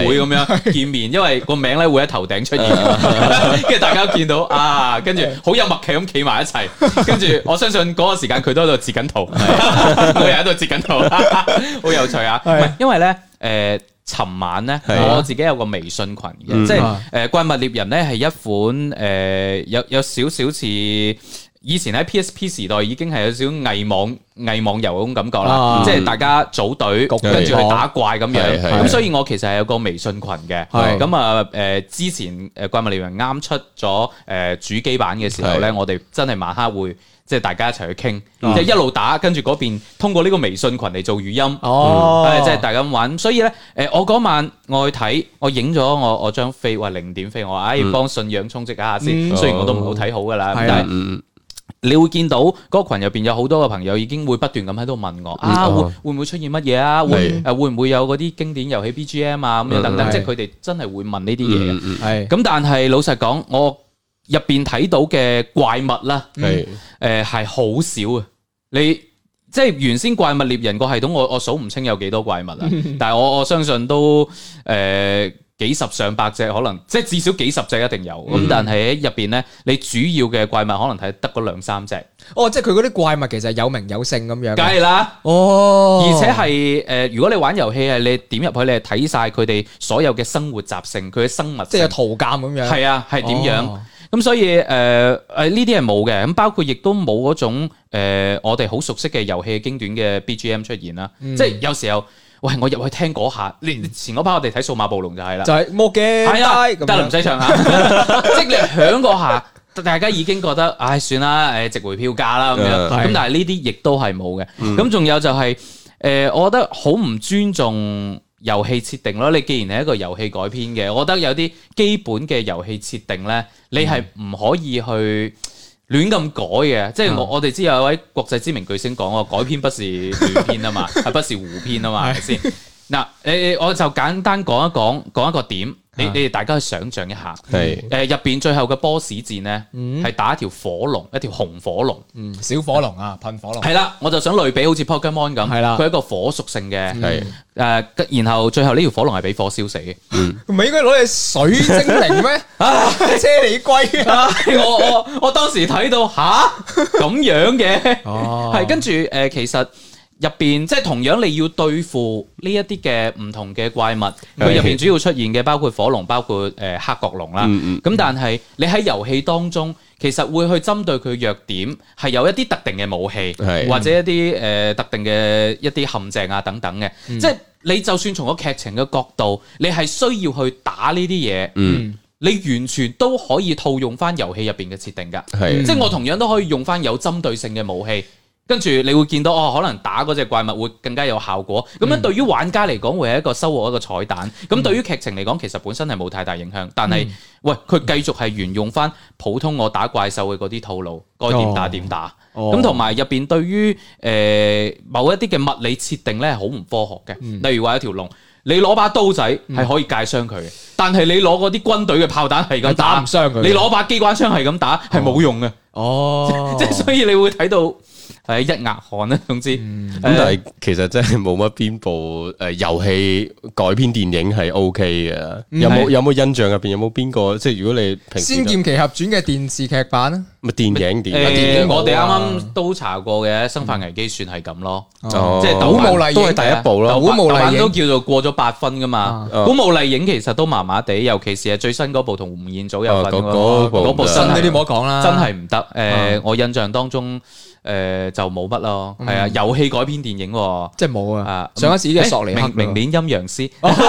會咁樣見面，因為個名咧會喺頭頂出現，跟住大家見到啊，跟住好有默契咁企埋一齊，跟住我相信嗰個時間佢都喺度截緊圖，我又喺度截緊圖，好有趣啊！唔係因為咧尋晚咧，我自己有個微信群嘅，即係怪物獵人咧係一款有少少似以前喺 PSP 時代已經係有少少偽網遊嗰種感覺啦，即係大家組隊跟住去打怪咁樣，咁所以我其實係有個微信群嘅，咁啊之前怪物獵人啱出咗主機版嘅時候咧，我哋真係晚黑會。即係大家一齊去傾，即係一路打，跟住嗰邊通過呢個微信群嚟做語音，即係大家咁玩。所以咧，我嗰晚我去睇，我影咗我張飛，話0點飛，我話幫信仰充值一下先。雖然我都唔好睇好噶啦，但係你會見到嗰個群入邊有好多個朋友已經會不斷咁喺度問我會唔會出現乜嘢啊？會唔會有嗰啲經典遊戲 BGM 啊咁樣等等，即係佢哋真係會問呢啲嘢嘅。咁但係老實講，我入邊睇到嘅怪物啦，係好少啊！你即係原先怪物獵人個系統，我數唔清有幾多怪物啊，但係我相信都幾十上百隻，可能即係至少幾十隻一定有。咁但係喺入邊咧，你主要嘅怪物可能睇得嗰兩三隻。
哦，即係佢嗰啲怪物其實有名有姓咁樣。
梗係啦，而且係如果你玩遊戲係你點入去，你係睇晒佢哋所有嘅生活習性，佢嘅生物，
即係有圖鑑咁樣。
係啊，係點樣？咁所以呢啲係冇嘅，咁包括亦都冇嗰種我哋好熟悉嘅遊戲經典嘅 BGM 出現啦。即係有時候，喂，我入去聽嗰下，前嗰排我哋睇數碼暴龍就係啦，
就係魔鏡，
係啊，得啦，唔使唱下，即係你響嗰下，大家已經覺得，唉，算啦，值回票價啦咁樣。咁但係呢啲亦都係冇嘅。咁仲有就係我覺得好唔尊重遊戲設定咯，你既然係一個遊戲改編嘅，我覺得有啲基本嘅遊戲設定咧，你係唔可以去亂咁改嘅。即係我哋知有一位國際知名巨星講喎，改編不是亂編啊嘛，係不是胡編啊嘛，係咪先？嗱，我就簡單講一個點。你哋大家去想象一下，入邊最後嘅 boss 戰咧，係打一條火龍，一條紅火龍，
小火龍啊，噴火龍。
係啦，我就想類比好似 Pokemon 咁，佢係一個火屬性嘅，然後最後呢條火龍係俾火燒死嘅，
唔係應該攞隻水精靈咩？車厘龜啊！
我當時睇到咁樣嘅，係跟住其實。入邊即係同樣你要對付呢一啲嘅唔同嘅怪物，佢入邊主要出現嘅包括火龍，包括黑角龍啦。咁但係你喺遊戲當中，其實會去針對佢弱點，係有一啲特定嘅武器，或者一啲特定嘅一啲陷阱啊等等嘅。即係你就算從個劇情嘅角度，你係需要去打呢啲嘢，你完全都可以套用翻遊戲入邊嘅設定㗎。即係我同樣都可以用翻有針對性嘅武器。跟住你會見到可能打嗰隻怪物會更加有效果。咁樣對於玩家嚟講會係一個收穫一個彩蛋。咁對於劇情嚟講，其實本身係冇太大影響。但係喂，佢繼續係沿用翻普通我打怪獸嘅嗰啲套路，該點打點打。咁同埋入邊對於某一啲嘅物理設定咧係好唔科學嘅。例如話一條龍，你攞把刀仔係可以界傷佢嘅，但係你攞嗰啲軍隊嘅炮彈係咁打唔傷佢。你攞把機關槍係咁打係冇用嘅。即係所以你會睇到。係一額汗啦，總之
咁但係其實真係冇乜邊部遊戲改編電影係 OK 嘅。有冇印象入邊有冇邊個？即係如果你平時《
仙劍奇俠傳》嘅電視劇版啊，
咪電影
我哋啱啱都查過嘅《生化危機》算係咁咯，即係
古墓麗影
都係第一部咯。
古墓麗影都叫做過咗8分噶嘛。古墓麗影其實都麻麻地，尤其是係最新嗰部同吳彥祖有份嗰部新
呢啲冇得講啦，
真係唔得。我印象當中。就冇乜咯，係啊，遊戲改編電影
即係冇啊。上一次嘅索尼克，
明年陰陽師，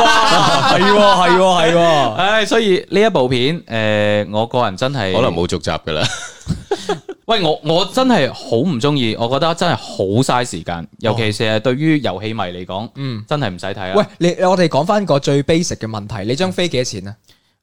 係，
所以呢一部片，我個人真係
可能冇續集噶啦。
喂，我真係好唔中意，我覺得真係好嘥時間，尤其是係對於遊戲迷嚟講，真係唔使睇啦。
喂，我哋講翻個最 basic 嘅問題，你張飛幾多錢啊？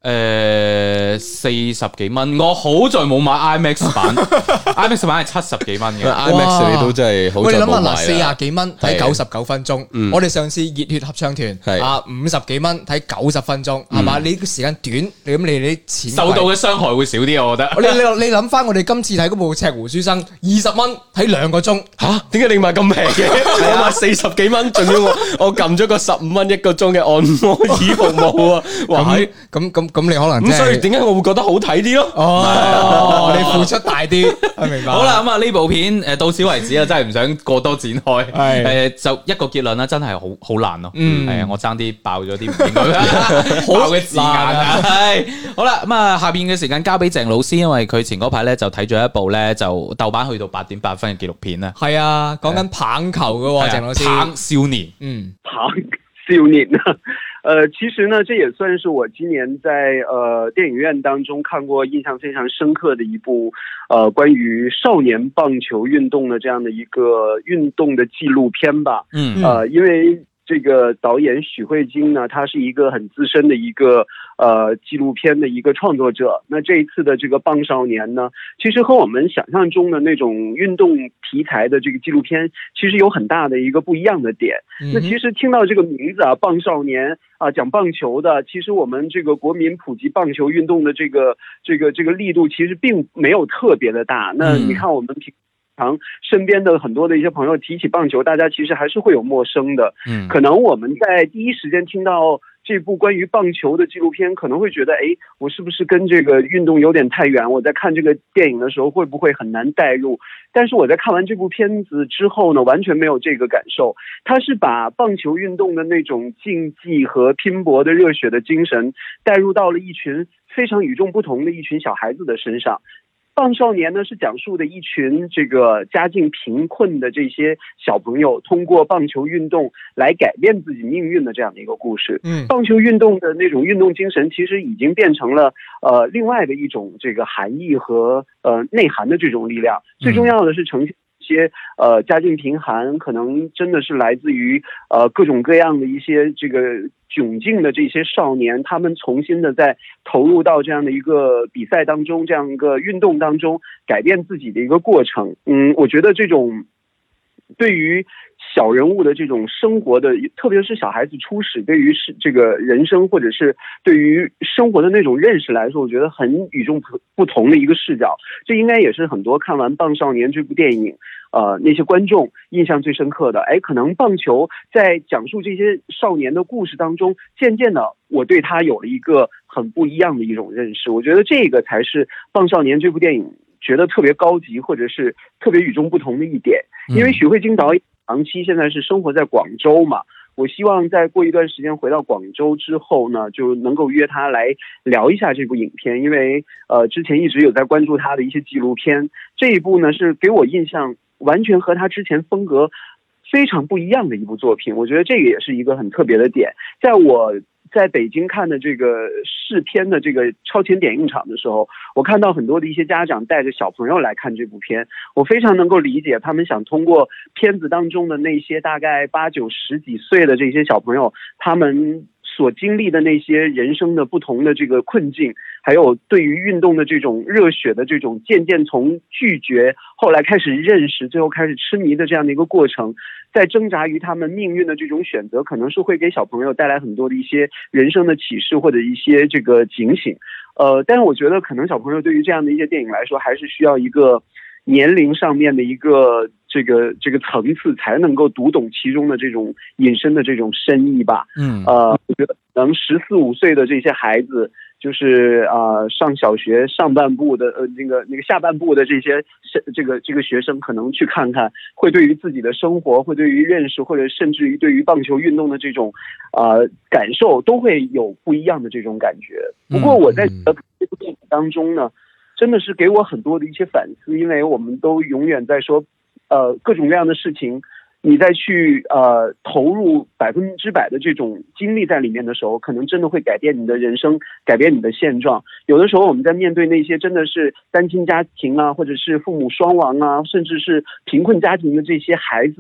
40幾蚊，我好在冇買 IMAX 版，IMAX 版係70幾蚊嘅。
IMAX 你都真係好在冇買啦。
你諗下嗱，40幾蚊睇99分鐘，我哋上次熱血合唱團50幾蚊睇90分鐘，係嘛？你個時間短，你錢
受到嘅傷害會少啲，我覺得。
你諗翻我哋今次睇嗰部《赤狐書生》，20蚊睇2個鐘，
嚇？點解你買咁平嘅？我買40幾蚊，仲要我撳咗個15蚊1個鐘嘅按摩椅服務啊！哇，
咁你可能
咁，所以點解我會覺得好睇啲咯？
哦，你付出大啲，明白。
好啦，咁啊呢部片到此為止啊，真係唔想過多展開。就一個結論啦，真係好難咯。係啊，我爭啲爆咗啲唔應該爆嘅字眼啊。係好啦，咁啊下邊嘅時間交俾鄭老師，因為佢前嗰排咧就睇咗一部咧就豆瓣去到8.8分嘅紀錄片啦。
係啊，講緊棒球嘅鄭老師，
棒少年，
棒少年啊。其實呢，這也算是我今年在電影院當中看過印象非常深刻的一部關於少年棒球運動的這樣的一個運動的紀錄片吧。因為這個導演許慧晶呢，他是一個很資深的一個紀錄片的一個創作者。那這一次的這個棒少年呢，其實和我們想象中的那種運動題材的這個紀錄片，其實有很大的一個不一樣的點。那其實聽到這個名字啊，棒少年啊，講棒球的，其實我們這個國民普及棒球運動的這個力度，其實並沒有特別的大。那你看我們平常身邊的很多的一些朋友提起棒球，大家其實還是會有陌生的。可能我們在第一時間聽到這部關於棒球的紀錄片，可能會覺得，我是不是跟這個運動有點太遠？我在看這個電影的時候，會不會很難帶入？但是我在看完這部片子之後呢，完全沒有這個感受。它是把棒球運動的那種競技和拼搏的熱血的精神，帶入到了一群非常與眾不同的一群小孩子的身上。棒少年呢，是講述的一群這個家境貧困的這些小朋友，通過棒球運動來改變自己命運的這樣的一個故事。棒球運動的那種運動精神，其實已經變成了另外的一種這個含義和內涵的這種力量。最重要的是呈現一些家境貧寒，可能真的是來自於各種各樣的一些這個窘境的這些少年，他們重新的在投入到這樣的一個比賽當中，這樣一個運動當中，改變自己的一個過程。我覺得這種對於小人物的這種生活的，特別是小孩子初始對於這個人生或者是對於生活的那種認識來說，我覺得很與眾不同的一個視角。這應該也是很多看完《棒少年》這部電影那些觀眾印象最深刻的。可能棒球在講述這些少年的故事當中，漸漸的我對他有了一個很不一樣的一種認識。我覺得這個才是《棒少年》這部電影覺得特別高級或者是特別與眾不同的一點。因為許慧晶導演長期現在是生活在廣州嘛，我希望在過一段時間回到廣州之後呢，就能夠約他來聊一下這部影片。因為之前一直有在關注他的一些紀錄片，這一部呢是給我印象完全和他之前風格非常不一樣的一部作品。我覺得這個也是一個很特別的點。在我在北京看的這個試片的這個超前點映場的時候，我看到很多的一些家長帶着小朋友來看這部片，我非常能夠理解他們想通過片子當中的那些大概8、9、10幾歲的這些小朋友，他們所經歷的那些人生的不同的這個困境，還有對於運動的這種熱血的這種漸漸從拒絕後來開始認識，最後開始痴迷的這樣的一個過程，在掙扎於他們命運的這種選擇，可能是會給小朋友帶來很多的一些人生的啟示或者一些這個警醒。但是我覺得可能小朋友對於這樣的一些電影來說，還是需要一個年齡上面的一個這個層次，才能夠讀懂其中的這種引申的這種深意吧。我覺得可能14、15歲的這些孩子，就是上小學上半部的那個下半部的這些這個學生，可能去看看，會對於自己的生活，會對於認識，或者甚至於對於棒球運動的這種感受，都會有不一樣的這種感覺。不過我在這部電影當中呢，真的是給我很多的一些反思，因為我們都永遠在說各種各樣的事情，你再去投入100%的這種精力在裡面的時候，可能真的會改變你的人生，改變你的現狀。有的時候我們在面對那些真的是單親家庭啊，或者是父母雙亡啊，甚至是貧困家庭的這些孩子們，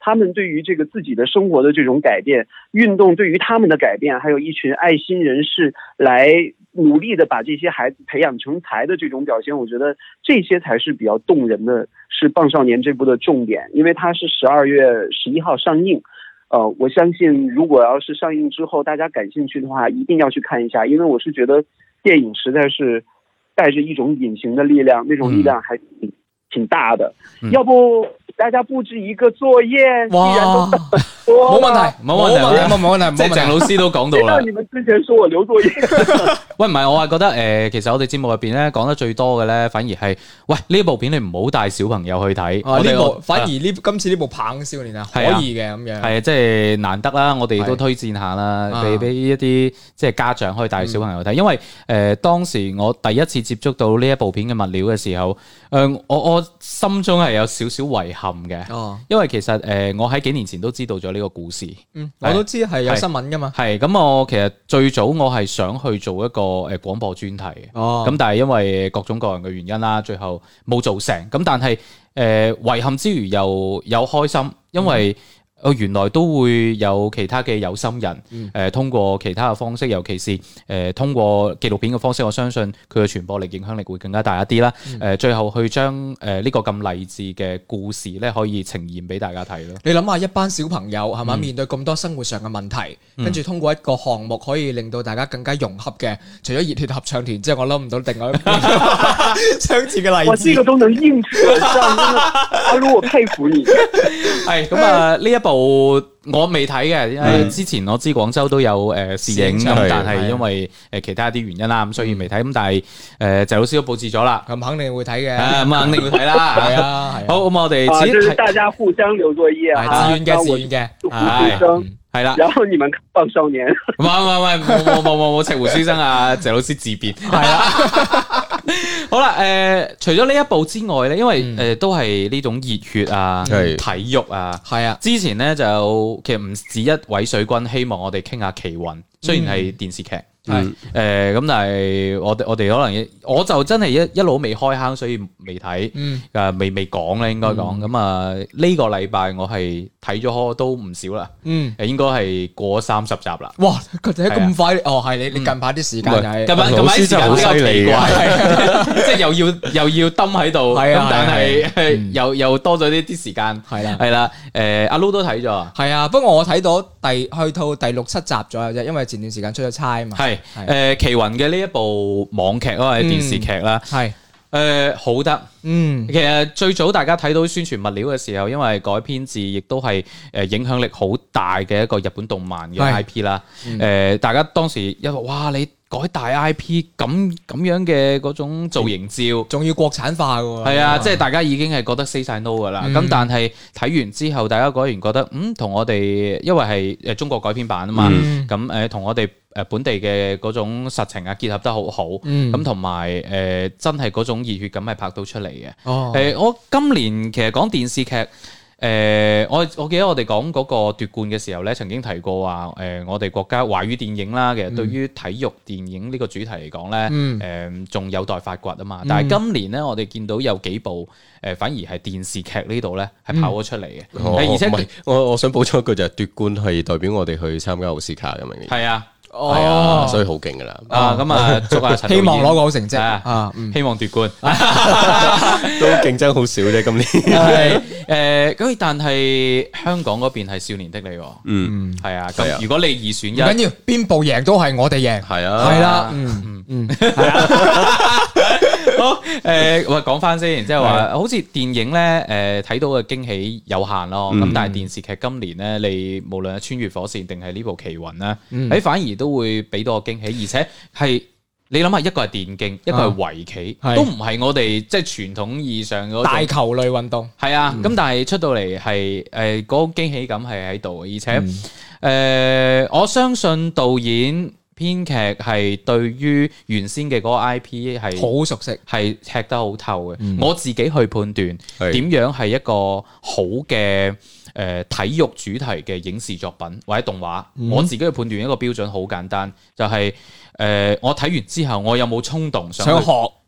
他们对于这个自己的生活的这种改变，运动对于他们的改变，还有一群爱心人士来努力的把这些孩子培养成才的这种表现，我觉得这些才是比较动人的，是《棒少年》这部的重点，因为它是12月11号上映。我相信如果要是上映之后大家感兴趣的话，一定要去看一下，因为我是觉得电影实在是带着一种隐形的力量，那種力量還挺大的。要不大家布置一個作業，既然都
冇問題，冇問題，
即係鄭老師都講到啦。
你們之前說我留作業，
喂，唔係，我係覺得其實我哋節目入邊咧講得最多嘅咧，反而係喂呢部片你唔好帶小朋友去睇。
反而今次呢部棒少年啊，可以嘅咁樣。
係啊，即係難得啦，我哋都推薦下啦，俾一啲即係家長可以帶小朋友睇，因為當時我第一次接觸到呢一部片嘅物料嘅時候，我心中係有少少遺憾嘅，因為其實我喺幾年前都知道咗呢個故事，
我都知係有新聞噶嘛。
係咁，我其實最早我係想去做一個廣播專題嘅，咁但係因為各種各樣嘅原因啦，最後冇做成。咁但係遺憾之餘又有開心，因為原來都會有其他嘅有心人，通過其他嘅方式，尤其是通過紀錄片嘅方式，我相信佢嘅傳播力、影響力會更加大一啲啦。最後去將呢個咁勵志嘅故事咧，可以呈現俾大家睇咯。
你諗下一班小朋友係嘛，面對咁多生活上嘅問題，跟住通過一個項目可以令到大家更加融洽嘅，除咗熱血合唱團之外，我諗唔到另外一個相似嘅例子。
哇，這個都能應付得上，阿盧，我佩服你。
係咁啊，呢一部我未睇嘅，因為之前我知廣州都有試映，咁但係因為其他啲原因啦，咁所以未睇。咁但係謝老師都佈置咗啦，
咁肯定會睇嘅，
咁肯定會睇啦。係啊，好，咁我哋
就是大家互相留作業啊，
自願嘅，
係啦。
然後你們棒少年，
冇赤湖書生啊，謝老師自辯係啦。好啦，除咗呢一部之外咧，因為都係呢種熱血啊、體育啊，係啊。之前咧就其實唔止一位水軍希望我哋傾下奇雲，雖然係電視劇。咁但係我哋可能我就真係一路未開坑，所以未睇，未講咧，應該講。咁啊呢個禮拜我係睇咗都唔少啦，應該係過30集啦。
哇，佢哋咁快？係你近排啲時間係
近排時間比較奇怪，即係又要蹲喺度，咁但係又多咗啲時間，係啦。阿 Lu 都睇咗，
係啊，不過我睇到去到第6、7集左右啫，因為前段時間出咗差啊嘛。
奇雲嘅呢一部網劇或者電視劇啦，好得，其實最早大家睇到宣傳物料嘅時候，因為改編自亦都係影響力好大嘅一個日本動漫嘅 IP 啦，大家當時因為哇你改大 IP 咁樣嘅嗰種造型照，
仲要國產化喎，
係啊，即係大家已經係覺得 say 晒 no 噶啦，咁但係睇完之後，大家果然覺得同我哋因為係中國改編版啊嘛，咁同我哋本地嘅嗰種實情啊結合得好好，咁同埋真係嗰種熱血感係拍到出嚟嘅。我今年其實講電視劇，我記得我哋講嗰個奪冠嘅時候咧，曾經提過話，我哋國家華語電影啦，其實對於體育電影呢個主題嚟講咧，仲有待發掘啊嘛。但係今年咧，我哋見到有幾部反而係電視劇呢度咧係跑咗出嚟嘅，而且
我想補充一句就係奪冠係代表我哋去參加奧斯卡咁樣嘅。
係啊。
係啊，所以好勁噶啦！
咁啊，祝阿陳
希望攞個好成績
希望奪冠，
都競爭好少啫。今年
咁但係香港嗰邊係少年的你，係啊。咁如果你二選一，
唔緊要，邊部贏都係我哋贏，
係啊，
係啦，係啊。
好，喂，講翻先，即係話，好似電影咧，睇到嘅驚喜有限咯。咁但係電視劇今年咧，你無論係穿越火線定係呢部奇雲咧，反而都會俾到個驚喜，而且係你諗下，一個係電競，一個係圍棋，都唔係我哋即係傳統意義上嗰
大球類運動。
係啊，咁但係出到嚟係嗰個驚喜感係喺度，而且我相信導演編劇係對於原先嘅嗰個 IP 係
好熟悉，係
吃得好透嘅。我自己去判斷點樣係一個好嘅體育主題嘅影視作品或者動畫，我自己去判斷一個標準好簡單，就係我睇完之後，我有冇衝動想學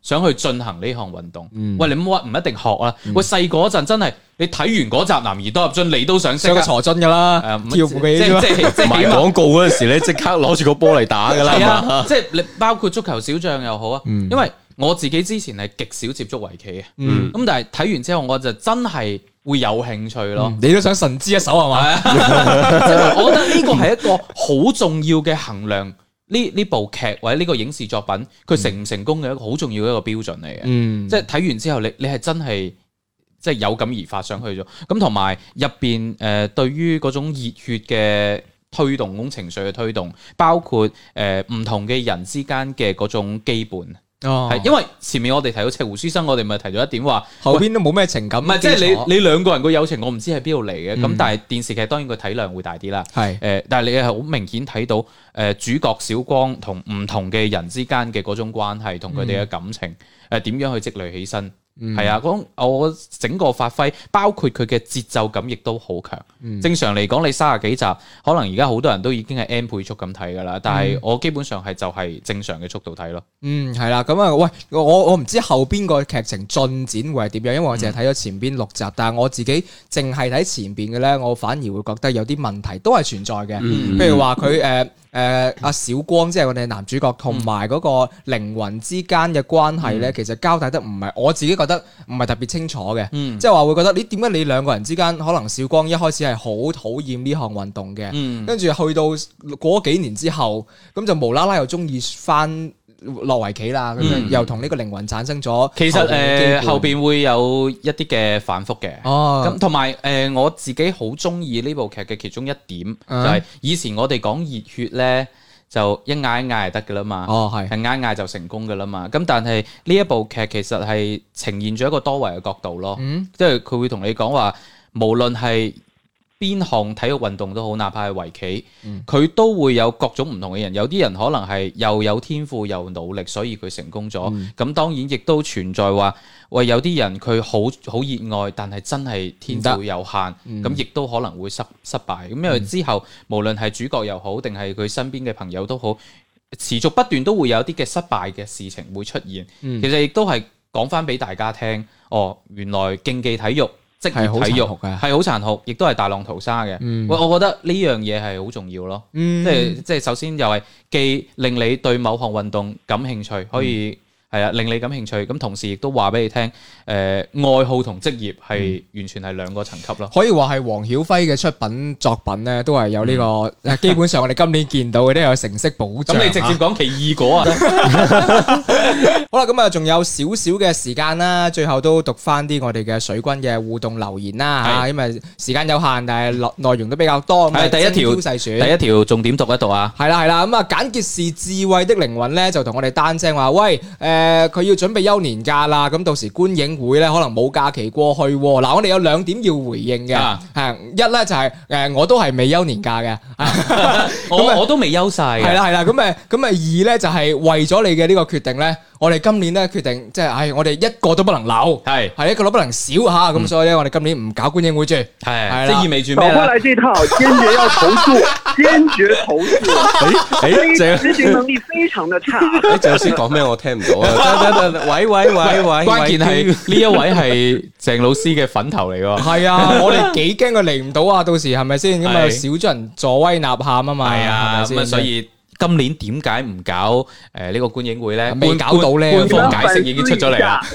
想去進行呢項運動。喂，你唔一定學啦。喂，細個嗰陣真係你睇完嗰集《男兒當入樽》，你都想識
個坐樽噶啦，跳舞嘅
即係賣廣告嗰陣時咧，即刻攞住個波嚟打噶啦。
係啊，即係你包括足球小將又好啊，因為我自己之前係極少接觸圍棋嘅，咁但係睇完之後我就真係會有興趣咯。
你都想神之一手係嘛？
即係我覺得呢個係一個好重要嘅衡量。呢部劇或者呢個影視作品佢成唔成功嘅一個好重要嘅一個標準嚟嘅，即係睇完之後你係真係即係有感而發想去咗，咁同埋入邊對於嗰種熱血嘅推動，嗰種情緒嘅推動，包括唔同嘅人之間嘅嗰種羈絆。係，因為前面我哋提到赤湖書生，我哋咪提到一點話，
後邊都冇咩情感。
唔係，即係你兩個人個友情，我唔知喺邊度嚟嘅。咁但係電視劇當然個體量會大啲啦。係但係你係好明顯睇到主角小光同唔同嘅人之間嘅嗰種關係，同佢哋嘅感情點樣去積累起身。係啊，我整個發揮，包括佢嘅節奏感，亦都好強。正常嚟講，你30幾集，可能而家好多人都已經係 N 倍速咁睇噶啦。但係我基本上係就係正常嘅速度睇咯。
係啦，咁啊，喂，我唔知後邊個劇情進展會係點樣，因為我淨係睇咗前邊6集，但係我自己淨係睇前邊嘅咧，我反而會覺得有啲問題都係存在嘅。譬如話佢阿小光即係我哋男主角同埋嗰個靈魂之間嘅關係咧，其實交代得唔係，我自己覺得唔係特別清楚嘅。即係話會覺得你點解你兩個人之間，可能小光一開始係好討厭呢項運動嘅，跟住去到過幾年之後，咁就無啦啦又中意翻落圍棋啦，咁樣又同呢個靈魂產生咗。
其實後邊會有一啲嘅反覆嘅。咁同埋我自己好中意呢部劇嘅其中一點，就係以前我哋講熱血咧，就一嗌一嗌就得噶啦嘛。係嗌嗌就成功噶啦嘛。咁但係呢一部劇其實係呈現咗一個多維嘅角度咯。即係佢會同你講話，無論係邊項體育運動都好，哪怕係圍棋，佢都會有各種唔同嘅人。有啲人可能係又有天賦又努力，所以佢成功咗。咁當然亦都存在話，喂，有啲人佢好熱愛，但係真係天賦有限，咁亦都可能會失敗。咁因為之後無論係主角又好，定係佢身邊嘅朋友都好，持續不斷都會有啲嘅失敗嘅事情會出現。其實亦都係講翻俾大家聽，原來競技體育職業體育係好殘酷，亦都係大浪淘沙嘅。我覺得呢樣嘢係好重要咯。即係首先又係既令你對某項運動感興趣，可以令你感興趣，咁同時亦都話俾你聽，愛好同職業係完全係兩個層級咯。
可以話係黃曉輝嘅出品作品咧，都係有呢個。基本上我哋今年見到嘅都有成色保障。
咁你直接講奇異果啊？
好啦，咁啊仲有少少嘅時間啦，最後都讀翻啲我哋嘅水軍嘅互動留言啦嚇，因為時間有限，但係內容都比較多。
係第一條重點讀一讀啊。
係啦，咁啊簡潔是智慧的靈魂咧，就同我哋單聲話，喂，佢要準備休年假啦，咁到時觀影會咧可能冇假期過去。嗱，我哋有2點要回應嘅，一咧就係我都係未休年假嘅，
我都未休晒。
係啦，咁啊二咧就係為咗你嘅呢個決定咧，我哋今年咧決定即係我哋一個都不能留，係一個都不能少嚇，咁所以咧我哋今年唔搞觀影會住，係
即意味住咩咧？
走過來這套堅決要投訴，堅決投訴，執行能力非常的差。
你鄭老師講咩我聽唔到啊？喂，
關鍵係呢一位係鄭老師嘅粉頭嚟喎。
係啊，我哋幾驚佢嚟唔到啊！到時係咪先咁啊？少咗人助威吶喊啊嘛，
係啊，咁啊所以。今年點解唔搞呢個觀影會咧？
未搞到咧，
官方解釋已經出咗嚟啦。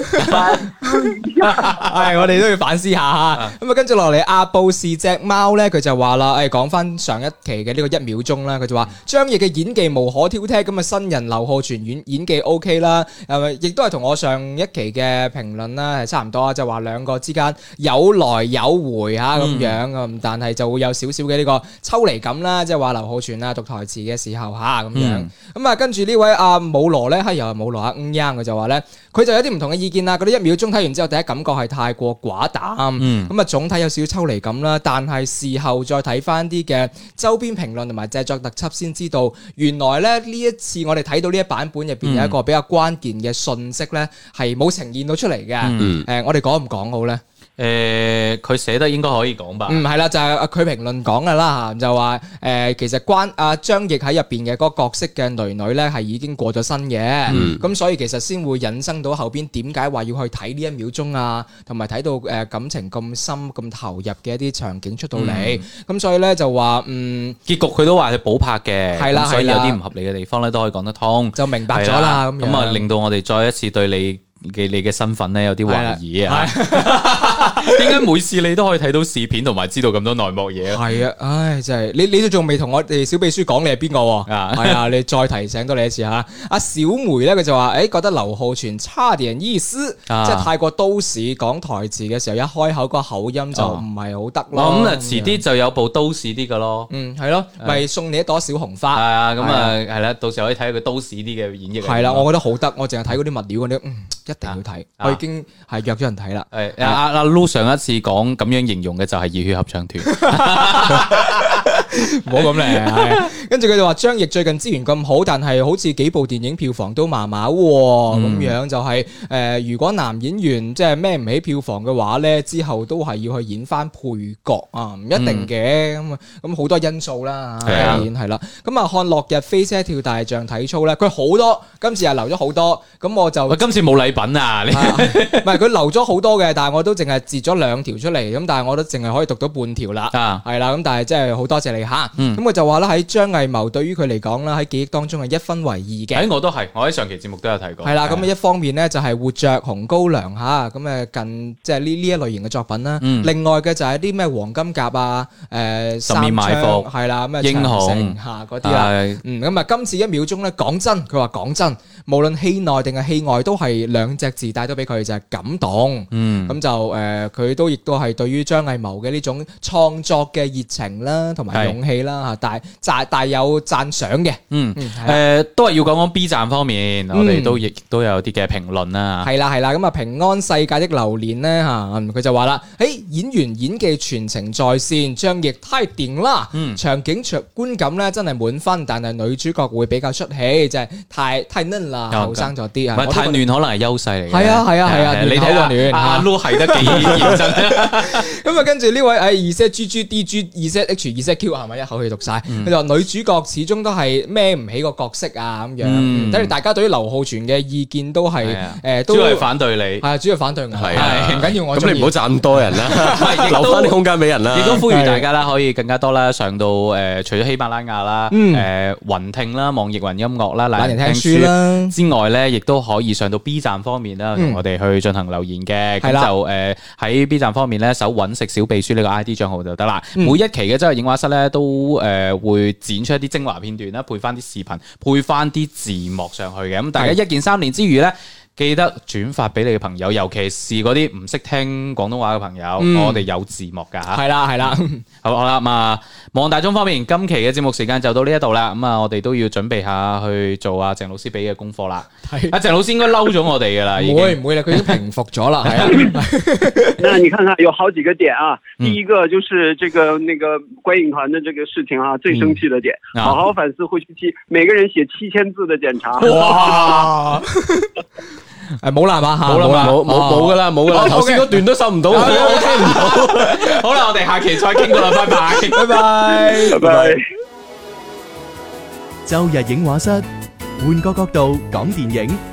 係，我哋都要反思下嚇。咁啊，跟住落嚟，阿布是隻貓咧，佢就話啦，講翻上一期嘅呢個1秒鐘啦，佢就話張譯嘅演技無可挑剔，咁啊新人劉浩存演技 OK 啦，亦都係同我上一期嘅評論啦係差唔多，就話兩個之間有來有回嚇咁樣啊，但係就會有少少嘅呢個抽離感啦，即係話劉浩存啊讀台詞嘅時候嚇。咁樣，咁啊，跟住呢位阿武羅咧，又係武羅阿佢就話咧，佢就有啲唔同嘅意見啦。嗰啲1秒鐘睇完之後，第一感覺係太過寡淡，咁啊總體有少少抽離感啦。但係事後再睇翻啲嘅周邊評論同埋製作特輯，先知道原來咧呢一次我哋睇到呢一版本入邊有一個比較關鍵嘅信息咧，係冇呈現到出嚟嘅。我哋講唔講好咧？
佢寫得應該可以講吧？
係啦，就係佢評論講嘅啦，就話其實關張譯喺入邊嘅嗰個角色嘅女女咧係已經過咗身嘅，咁所以其實先會引申到後邊點解話要去睇呢1秒鐘啊，同埋睇到感情咁深咁投入嘅一啲場景出到嚟，咁所以咧就話結
局佢都話係補拍嘅，
係啦，
所以有啲唔合理嘅地方咧都可以講得通，
就明白咗啦。
咁啊令到我哋再一次對你嘅身份咧有啲懷疑啊！點解每次你都可以睇到視片同埋知道咁多內幕嘢？
係啊，唉，真係你都仲未同我哋小秘書講你係邊個？係啊，你再提醒多你一次吓。阿小梅咧，佢就話覺得劉浩存差點意思，即係太過都市講台詞嘅時候，一開口個口音就唔係好得咯。
咁啊，遲啲就有部都市啲嘅咯。
係咯，咪送你一朵小紅花。
係啊，咁啊係啦，到時候可以睇佢都市啲嘅演繹。
係啦，我覺得好得，我淨係睇嗰啲物料嗰啲，一定要睇。我已經係約咗人睇啦。
阿 Lu 上一次講咁樣形容嘅就係熱血合唱團，
唔好咁咧。跟住佢就話張譯最近資源咁好，但係好似幾部電影票房都麻麻咁樣，就係如果男演員即係孭唔起票房嘅話咧，之後都係要去演翻配角啊，唔一定嘅。咁好多因素啦，係啦。咁啊，看落日飛車跳大象體操咧，佢好多，今次又留咗好多。咁我就
今次冇禮品啊！
唔係佢留咗好多嘅，但係我都淨係截咗2條出嚟，咁但係我都淨係可以讀到半條啦，係啦，咁但係真係好多謝你吓，咁佢就話啦，喺張藝謀對於佢嚟講啦，喺記憶當中係1分為2嘅，
我都係，我喺上期節目都有提過，
係啦，咁一方面咧就係活着、紅高粱吓，咁近即係呢一類型嘅作品啦，另外嘅就係啲咩黃金甲啊，
十面埋伏
係啦，咩
英雄
吓嗰啲啦，咁啊今次1秒鐘咧，講真，佢話講真，無論戲內定係戲外都係2隻字帶到俾佢就係感動，咁就佢都亦都係對於張藝謀嘅呢種創作嘅熱情啦，同埋勇氣啦吓，大有讚賞嘅。
都係要講講 B 站方面，我哋都亦都有啲嘅評論啦。
係啦，咁啊平安世界的流年咧吓，佢就話啦，演員演技全程在線，張譯太掂啦，場景觀感咧真係滿分，但係女主角會比較出戲，就係太嫩啦，後生咗啲啊，
太嫩可能係優勢嚟嘅。
係啊，你睇
下阿 Lu 係得幾認真。
咁啊，跟住呢位2ZGGDG 2ZH2ZQ 係咪一口氣讀晒？佢就話女主角始終都係孭唔起個角色啊咁樣。等於大家對於劉浩存嘅意見都係
主要係反對你，
係主要反對我，係唔緊要我。
咁你唔好讚咁多人啦，留翻啲空間俾人啦。
亦都呼籲大家啦，可以更加多啦，上到除咗喜馬拉雅啦、雲聽啦、網易雲音樂啦、懶人聽書啦之外咧，亦都可以上到 B 站方面啦，同我哋去進行留言嘅。咁就喺 B 站方面咧，搜揾食小秘書呢個 ID 賬號就得啦。每一期嘅周日映畫室咧，都會剪出一啲精華片段啦，配翻啲視頻，配翻啲字幕上去嘅。咁大家一鍵3連之餘咧，記得轉發俾你嘅朋友，尤其是嗰啲唔識聽廣東話嘅朋友，我哋有字幕噶吓。係啦，好啦，咁啊，望大鐘方面，今期嘅節目時間就到呢一度啦。咁啊，我哋都要準備下去做阿鄭老師俾嘅功課啦。阿鄭老師應該嬲咗我哋噶啦，
唔會啦，佢已經平復咗啦。係啊，
那你看看有好幾個點啊。第一個就是這個那個觀影團的這個事情啊，最生氣的點，好好反思回去期，每個人寫7000字的檢查。
哇！冇啦嘛，
冇噶啦，頭先嗰段都收唔到，我聽唔到。
好啦，我哋下期再傾過啦，拜拜，
拜拜。
周日映畫室，換個角度講電影。